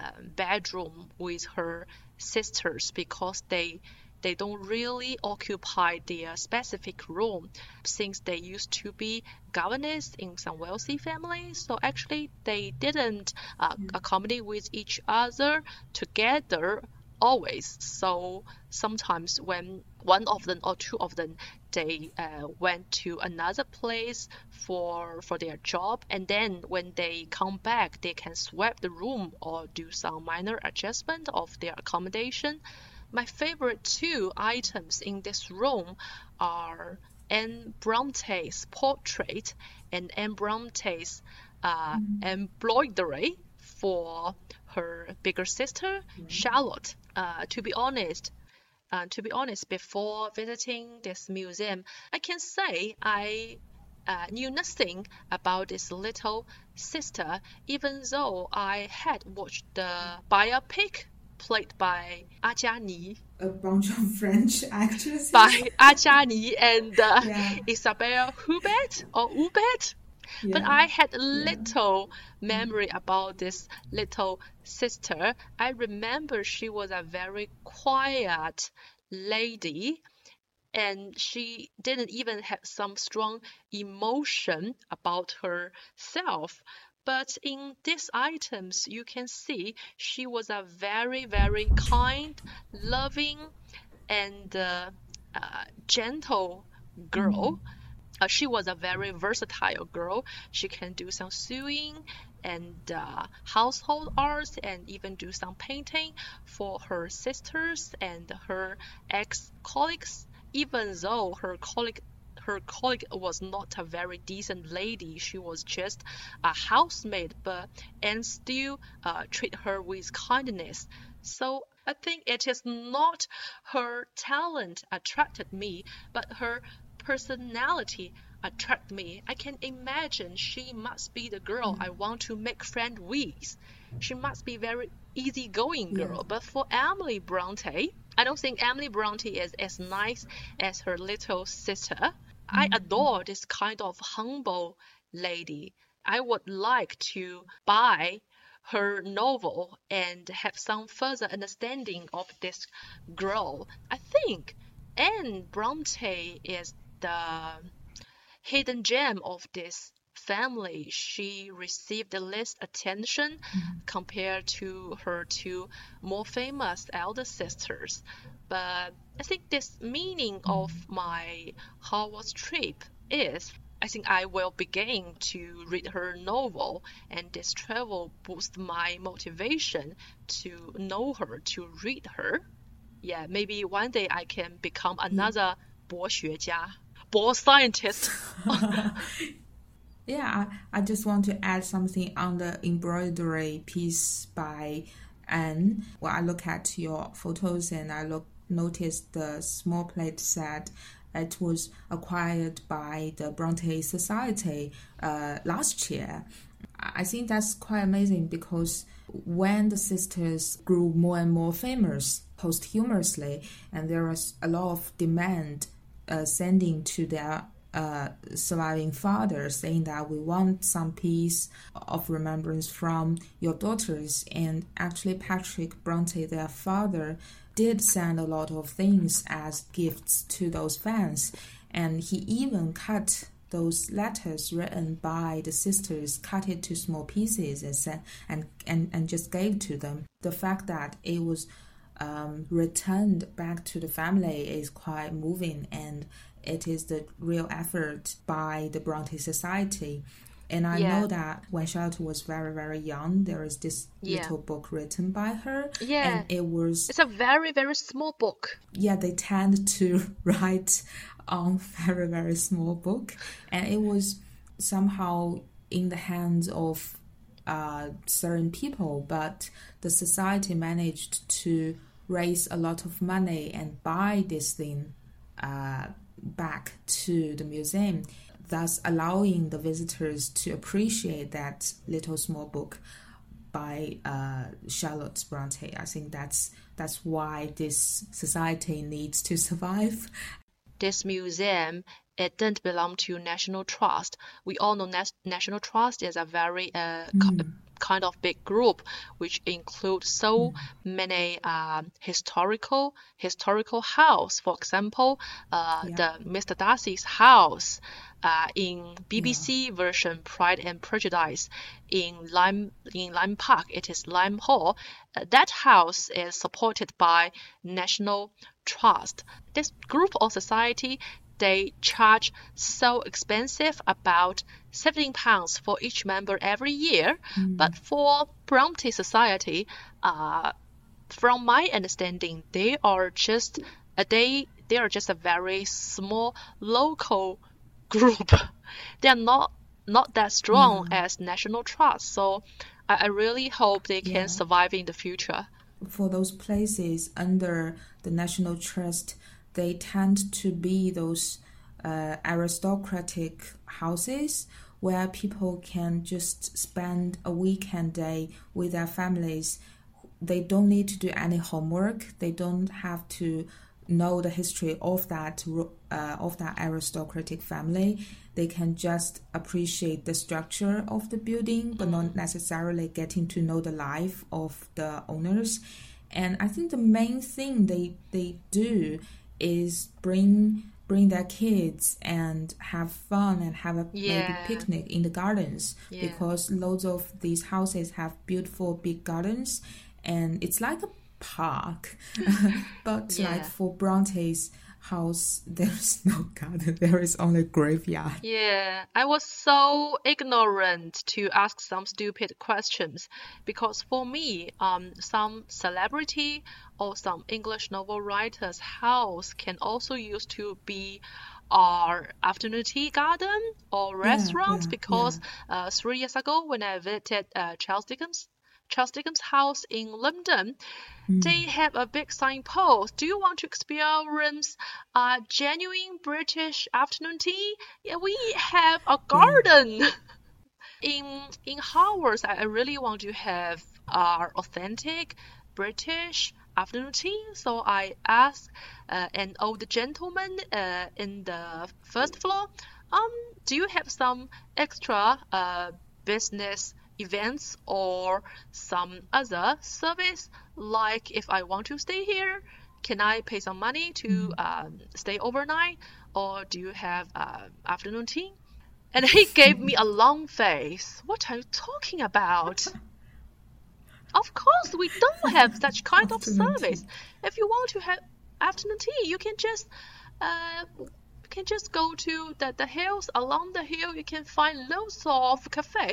bedroom with her sisters because they they don't really occupy their specific room since they used to be governors in some wealthy families. So actually, they didn't uh, accommodate with each other together always. So sometimes when one of them or two of them, they uh, went to another place for for their job, and then when they come back, they can swap the room or do some minor adjustment of their accommodation. My favorite two items in this room are Anne Bronte's portrait and Anne Bronte's uh, embroidery for her bigger sister, Charlotte. Uh, to be honest, uh, to be honest, before visiting this museum, I can say I uh, knew nothing about this little sister, even though I had watched the biopic played by Ah Jia-ni, A bunch of French actresses. by Ah Jia-ni and uh, Yeah. Isabelle Huppert or Huppert. But Yeah. I had little memory about this little sister. I remember she was a very quiet lady, and she didn't even have some strong emotion about herself. But in these items, you can see she was a very, very kind, loving, and uh, uh, gentle girl. Uh, she was a very versatile girl. She can do some sewing and uh, household arts and even do some painting for her sisters and her ex-colleagues, even though her colleague her colleague was not a very decent lady. She was just a housemaid, but and still uh, treat her with kindness. So I think it is not her talent attracted me, but her personality attract me. I can imagine she must be the girl I want to make friend with. She must be very easygoing girl. Yeah. But for Emily Bronte, I don't think Emily Bronte is as nice as her little sister. I adore this kind of humble lady. I would like to buy her novel and have some further understanding of this girl. I think Anne Bronte is the hidden gem of this family. She received the least attention compared to her two more famous elder sisters. But I think this meaning of my Hogwarts trip is I think I will begin to read her novel, and this travel boosts my motivation to know her, to read her. Yeah, maybe one day I can become another 博学家, 博 scientist. Yeah, I, I just want to add something on the embroidery piece by Anne. When I look at your photos and I look notice the small plate set, it was acquired by the Bronte Society uh, last year. I think that's quite amazing because when the sisters grew more and more famous posthumously, and there was a lot of demand uh, sending to their uh, surviving father saying that we want some piece of remembrance from your daughters, and actually Patrick Bronte, their father, did send a lot of things as gifts to those fans, and he even cut those letters written by the sisters, cut it to small pieces and sent, and, and, and just gave to them. The fact that it was um, returned back to the family is quite moving, and it is the real effort by the Bronte Society. And I Yeah. know that when Charlotte was very, very young, there is this Yeah. little book written by her. Yeah. And it was, It's a very, very small book. yeah, they tend to write on very, very small book. And it was somehow in the hands of uh, certain people, but the society managed to raise a lot of money and buy this thing uh, back to the museum, thus allowing the visitors to appreciate that little small book by uh, Charlotte Bronte. I think that's that's why this society needs to survive. This museum, it didn't belong to National Trust. We all know Nas- National Trust is a very uh, co- kind of big group which includes so many um, historical historical house. For example, uh, Yeah. the Mister Darcy's house uh, in B B C version Pride and Prejudice in Lime in Lime Park. It is Lime Hall. Uh, that house is supported by National Trust. This group of society, they charge so expensive, about seventeen pounds for each member every year. But for Bronte Society, uh, from my understanding, they are just a they they are just a very small local group. They are not not that strong as National Trust. So I, I really hope they can Yeah. survive in the future. For those places under the National Trust, they tend to be those uh, aristocratic houses where people can just spend a weekend day with their families. They don't need to do any homework. They don't have to know the history of that uh, of that aristocratic family. They can just appreciate the structure of the building, but not necessarily getting to know the life of the owners. And I think the main thing they they do is bring bring their kids and have fun and have a Yeah. maybe picnic in the gardens, Yeah. because loads of these houses have beautiful big gardens, and it's like a park. But Yeah. like for Bronte's house, there's no garden. There is only graveyard. Yeah, I was so ignorant to ask some stupid questions because for me, um, some celebrity or some English novel writer's house can also used to be our afternoon tea garden or restaurant yeah, because uh, three years ago when I visited uh, Charles Dickens, Charles Dickens' house in London, they have a big signpost. Do you want to experience uh, genuine British afternoon tea? Yeah, we have a garden. In in Harvard, I I really want to have uh, authentic British afternoon tea. So I asked uh, an old gentleman uh, in the first floor, um, do you have some extra uh, business events or some other service, like if I want to stay here, can I pay some money to um, stay overnight, or do you have uh, afternoon tea? And he gave me a long face. What are you talking about? Of course, we don't have such kind of Afternoon service. tea. If you want to have afternoon tea, you can just uh, you can just go to the, the hills. Along the hill, you can find loads of cafe.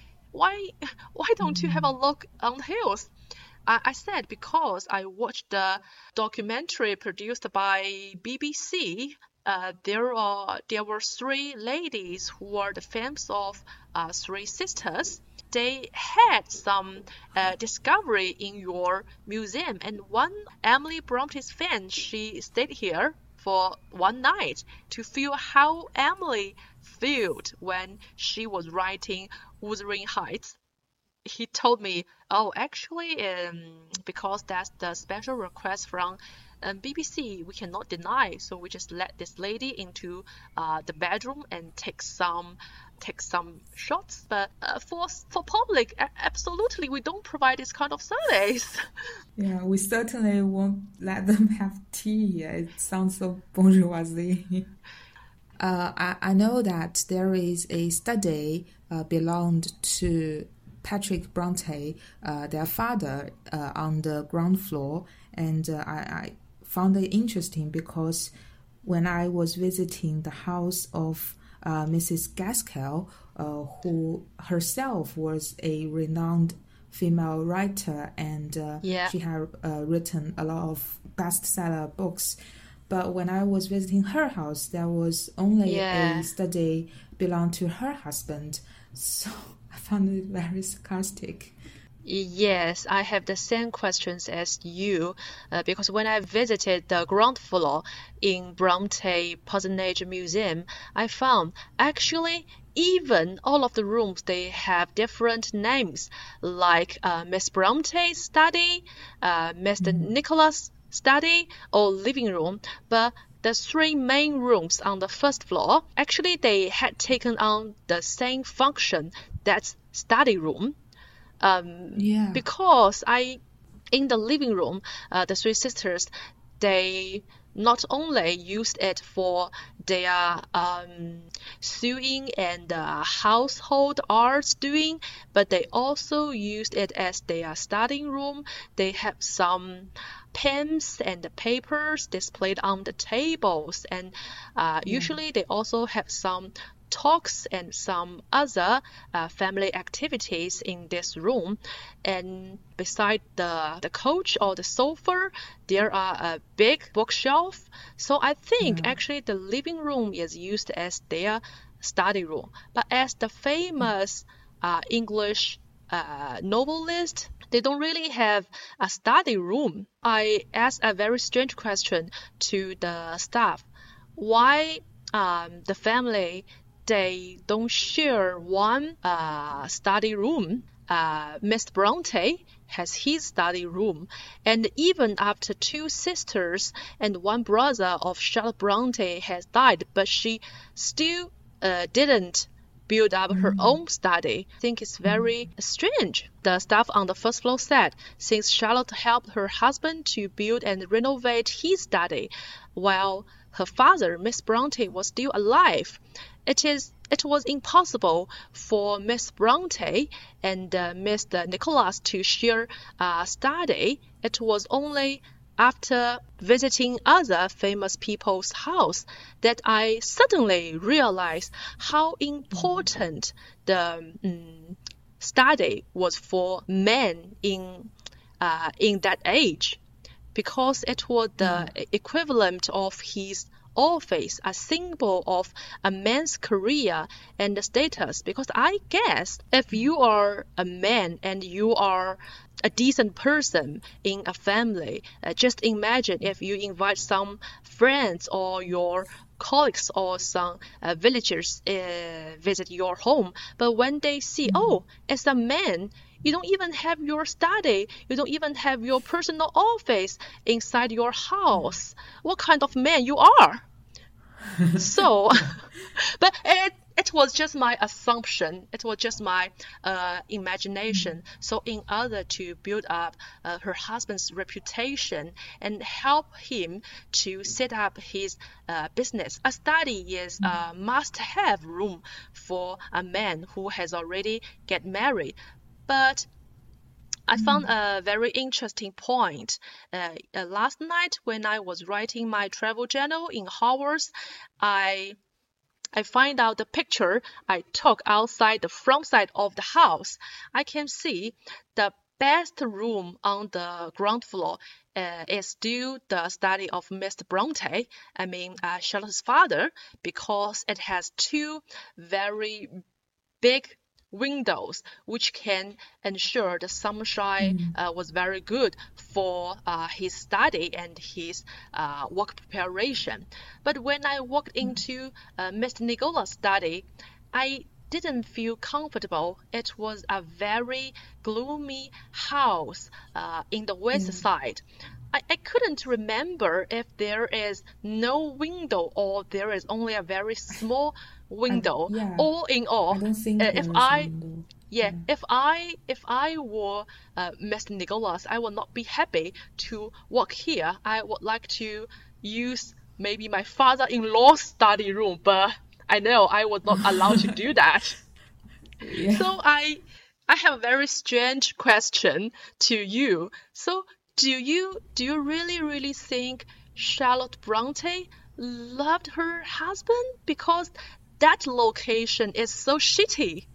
Why why don't you have a look on the hills? I, I said because I watched the documentary produced by B B C. Uh, there are there were three ladies who were the fans of uh, three sisters. They had some uh, discovery in your museum, and one Emily Bronte's fan, she stayed here for one night to feel how Emily felt when she was writing Wuthering Heights. He told me, oh, actually, um, because that's the special request from um, B B C, we cannot deny, so we just let this lady into uh, the bedroom and take some take some shots. But uh, for for public, a- absolutely, we don't provide this kind of service. Yeah, we certainly won't let them have tea. It sounds so bourgeoisie. Uh, I, I know that there is a study uh, belonged to Patrick Bronte, uh, their father, uh, on the ground floor, and uh, I, I found it interesting because when I was visiting the house of uh, Missus Gaskell, uh, who herself was a renowned female writer, and uh, Yeah. she had uh, written a lot of bestseller books. But when I was visiting her house, there was only Yeah. a study belonged to her husband. So I found it very sarcastic. Yes, I have the same questions as you uh, because when I visited the ground floor in Bronte Parsonage Museum, I found actually even all of the rooms they have different names like uh, Miss Bronte's study, uh, Mister Nicholas' study, or living room, but the three main rooms on the first floor actually they had taken on the same function, that's study room. Um, Yeah. because I, in the living room, uh, the three sisters, they not only used it for their um, sewing and uh, household arts doing, but they also used it as their studying room. They have some pens and papers displayed on the tables, and uh, usually they also have some talks and some other uh, family activities in this room. And beside the the couch or the sofa, there are a big bookshelf. So I think Yeah. actually the living room is used as their study room. But as the famous uh, English uh, novelist, they don't really have a study room. I asked a very strange question to the staff. Why um, the family they don't share one uh, study room? Uh, Mister Bronte has his study room, and even after two sisters and one brother of Charlotte Bronte has died, but she still uh, didn't build up her own study. I think it's very strange. The staff on the first floor said, since Charlotte helped her husband to build and renovate his study, while her father, Miss Bronte, was still alive, it is it was impossible for Miss Bronte and uh, Mister Nicholas to share a study. It was only after visiting other famous people's house that I suddenly realized how important the um, study was for men in uh, in that age, because it was the equivalent of his office, a symbol of a man's career and status. Because I guess if you are a man and you are a decent person in a family, uh, just imagine if you invite some friends or your colleagues or some uh, villagers uh, visit your home, but when they see, oh, as a man, you don't even have your study, you don't even have your personal office inside your house. What kind of man you are? So, but it it was just my assumption. It was just my uh, imagination. So, in order to build up uh, her husband's reputation and help him to set up his uh, business, a study is a must-have room for a man who has already get married. But I found a very interesting point. Uh, uh, last night, when I was writing my travel journal in Hogwarts, I I find out the picture I took outside the front side of the house. I can see the best room on the ground floor uh, is still the study of Mister Bronte, I mean uh, Charlotte's father, because it has two very big windows which can ensure the sunshine uh, was very good for uh, his study and his uh, work preparation. But when I walked into uh, Mister Nicola's study, I didn't feel comfortable. It was a very gloomy house uh, in the west side. I, I couldn't remember if there is no window or there is only a very small window. I, yeah. All in all, I don't think uh, there if is I a window. yeah, if I if I were uh, Mister Nicholas, I would not be happy to work here. I would like to use maybe my father-in-law's study room, but I know I was not allowed to do that. Yeah. So I I have a very strange question to you. So do you do you really really think Charlotte Bronte loved her husband? Because that location is so shitty.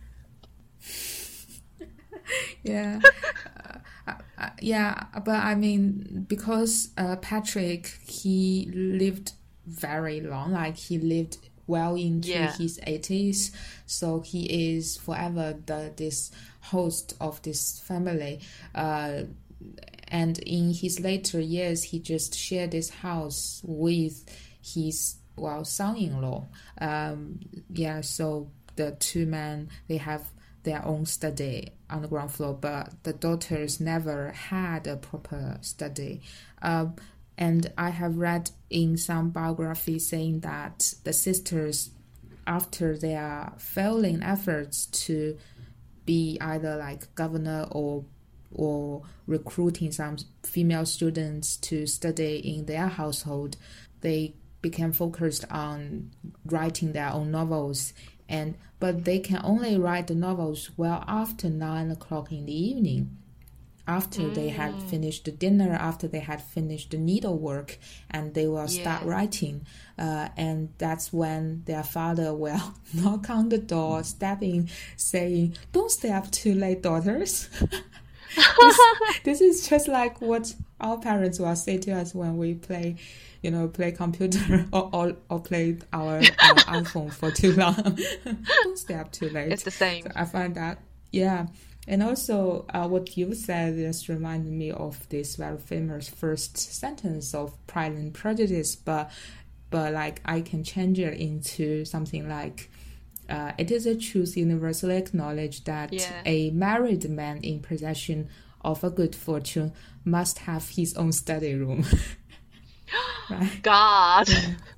Yeah. uh, uh, yeah, but I mean, because uh, Patrick, he lived very long, like he lived well into Yeah. his eighties, so he is forever the this host of this family. Uh, and in his later years, he just shared this house with his well son-in-law. Um, yeah, so the two men, they have their own study on the ground floor, but the daughters never had a proper study. Um, and I have read in some biographies saying that the sisters, after their failing efforts to be either like governor or or recruiting some female students to study in their household, they became focused on writing their own novels. And but they can only write the novels well after nine o'clock in the evening, after mm. they had finished the dinner, after they had finished the needlework, and they will yeah. start writing. Uh, and that's when their father will knock on the door, step in, saying, "Don't stay up too late, daughters." this, this is just like what our parents will say to us when we play, you know, play computer or or, or play our, our iPhone for too long. Don't stay up too late. It's the same. So I find that, yeah. And also, uh, what you said just reminded me of this very famous first sentence of Pride and Prejudice, but but like I can change it into something like, Uh, it is a truth universally acknowledged that yeah. a married man in possession of a good fortune must have his own study room. Right? God,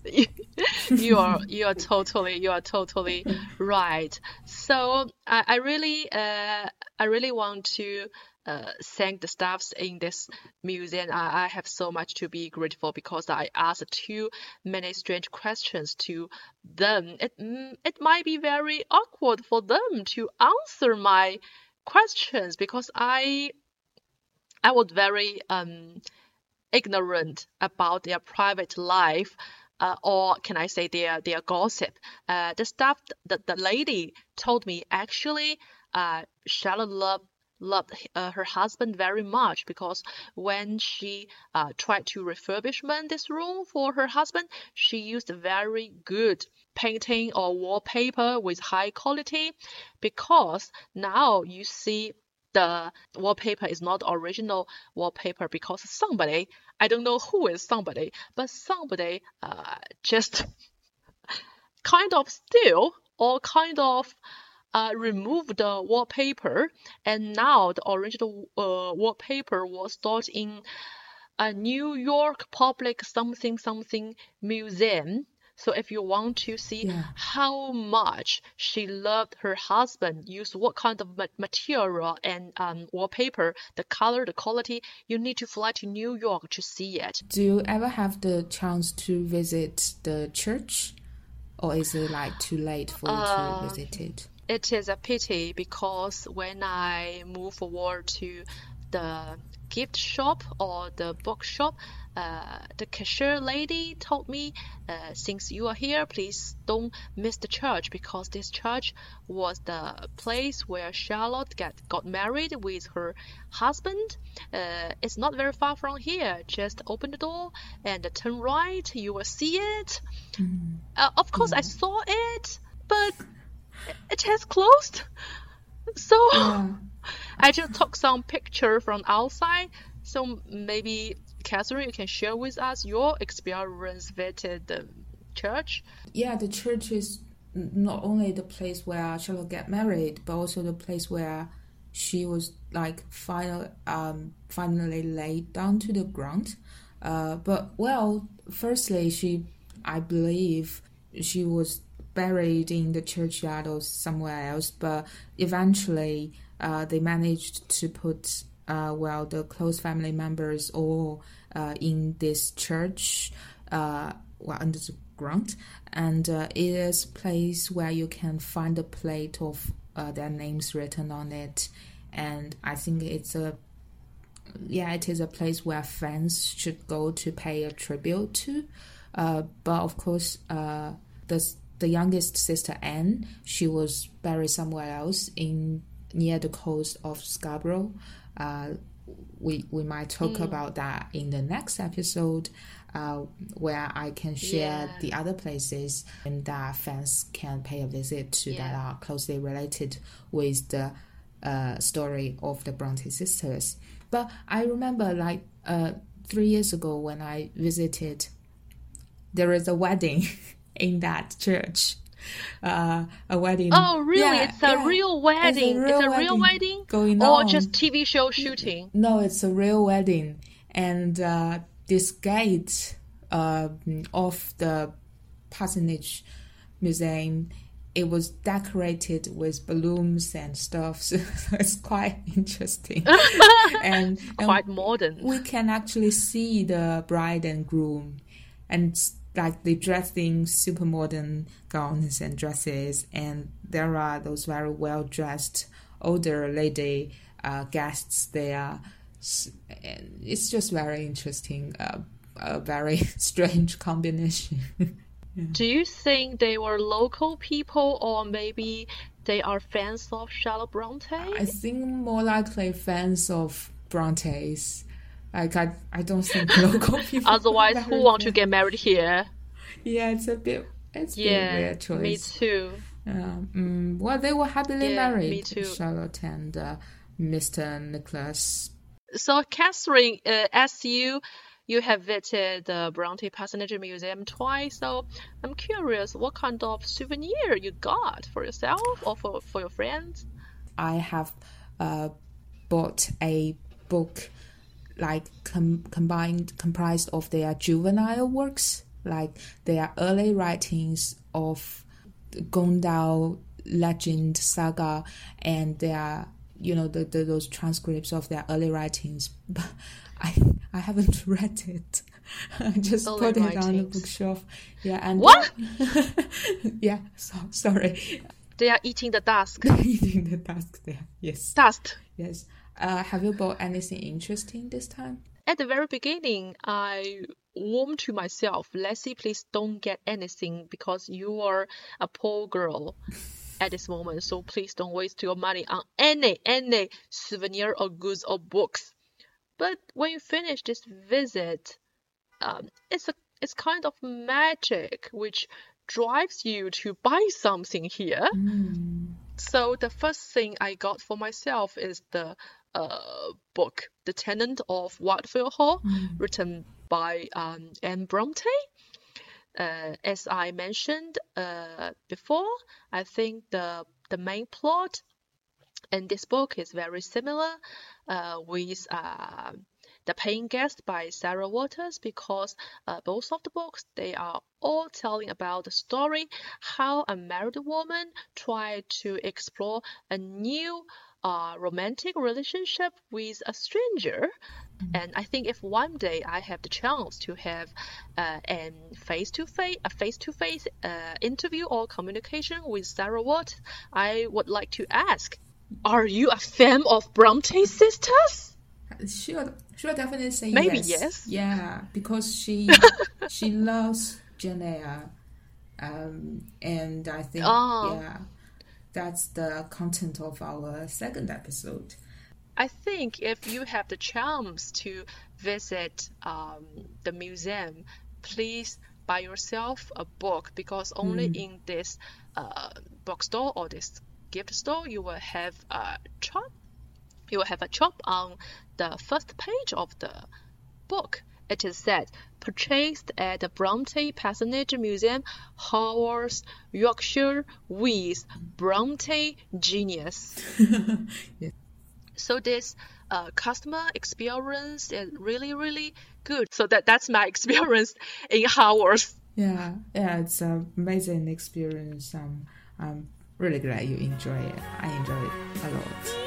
you are you are totally you are totally right. So I, I really uh, I really want to uh, thank the staffs in this museum. I, I have so much to be grateful because I asked too many strange questions to them. It it might be very awkward for them to answer my questions because I I was very um ignorant about their private life, uh, or can I say their their gossip. Uh, the stuff that the lady told me, actually, uh, Charlotte loved loved uh, her husband very much, because when she uh, tried to refurbishment this room for her husband, she used very good painting or wallpaper with high quality, because now you see the wallpaper is not original wallpaper, because somebody, I don't know who is somebody, but somebody uh, just kind of steal or kind of uh, remove the wallpaper, and now the original uh, wallpaper was stored in a New York public something something museum. So if you want to see Yeah. how much she loved her husband, use what kind of ma- material and um, wallpaper, the color, the quality, you need to fly to New York to see it. Do you ever have the chance to visit the church, or is it like too late for you Uh, to visit it? It is a pity, because when I move forward to the gift shop or the bookshop, uh, the cashier lady told me, uh, since you are here, please don't miss the church, because this church was the place where Charlotte get, got married with her husband. Uh, it's not very far from here. Just open the door and turn right. You will see it. Uh, of course, I saw it, but it has closed. So Yeah. I just took some picture from outside. So maybe, Catherine, you can share with us your experience visited the church. Yeah, the church is n- not only the place where Charlotte got married, but also the place where she was like final, um, finally laid down to the ground. Uh, but well, firstly, she, I believe, she was buried in the churchyard or somewhere else. But eventually, uh, they managed to put, uh, well, the close family members all uh, in this church, uh, well, under the ground, and uh, it is a place where you can find a plate of uh, their names written on it, and I think it's a yeah it is a place where fans should go to pay a tribute to. Uh, but of course, uh, the the youngest sister Anne, she was buried somewhere else in near the coast of Scarborough. Uh, we we might talk Mm. about that in the next episode, uh, where I can share Yeah. the other places and that fans can pay a visit to that Yeah. are closely related with the uh, story of the Bronte sisters. But I remember, like uh, three years ago when I visited, there is a wedding in that church. Uh, a wedding. Oh, really? Yeah, It's a yeah. real wedding. It's a real, real wedding, wedding? going Or on. just T V show shooting? No, it's a real wedding, and uh, this gate uh, of the Parsonage Museum, it was decorated with balloons and stuff. So it's quite interesting, and, and Quite modern. we can actually see the bride and groom, and like they dressed in super modern gowns and dresses, and there are those very well dressed older lady uh, guests there. S- and it's just very interesting, uh, a very strange combination. Do you think they were local people, or maybe they are fans of Charlotte Bronte? I think more likely fans of Brontes. Like I, I don't think local people. Otherwise, are who very want to fan- get married here? Yeah, it's a bit. It's a bit Yeah, weird choice. me too. Yeah, mm, well, they were happily Yeah, married, me too. Charlotte and uh, Mister Nicholas. So, Catherine, uh, as you you have visited the Bronte Parsonage Museum twice, so I'm curious, what kind of souvenir you got for yourself or for, for your friends? I have uh, bought a book like com- combined comprised of their juvenile works, like their early writings of the Gondal legend saga, and their you know the, the those transcripts of their early writings. But I I haven't read it. I just Early put it on the writings. bookshelf. Yeah, and What? yeah, so, sorry. They are eating the dust. Eating the dust there. Yes. Dust. Yes. Uh, have you bought anything interesting this time? at the very beginning, I warned to myself, Leslie, please don't get anything because you are a poor girl at this moment. So please don't waste your money on any, any souvenir or goods or books. But when you finish this visit, um, it's a it's kind of magic which drives you to buy something here. Mm. So the first thing I got for myself is the uh, book, The Tenant of Whitefield Hall, Mm. written by um, Anne Bronte. Uh, as I mentioned uh, before, I think the the main plot in this book is very similar uh, with uh, The Paying Guest by Sarah Waters, because uh, both of the books, they are all telling about the story how a married woman tried to explore a new uh, romantic relationship with a stranger. And I think if one day I have the chance to have uh, an face-to-face, a face-to-face uh, interview or communication with Sarah Waters, I would like to ask, are you a fan of Bronte sisters? She'll, she'll definitely say Maybe yes. yes. Yeah, because she she loves Jane Eyre, um, and I think Oh. yeah, that's the content of our second episode. I think if you have the chance to visit um, the museum, please buy yourself a book, because only in this uh, bookstore or this gift store you will have a chop. You will have a chop on the first page of the book. It is said, purchased at the Bronte Parsonage Museum, Haworth, Yorkshire, with Bronte Genius. Yes. So this uh, customer experience is really, really good. So that that's my experience in Haworth. Yeah, yeah, it's an amazing experience. Um, I'm really glad you enjoy it. I enjoy it a lot.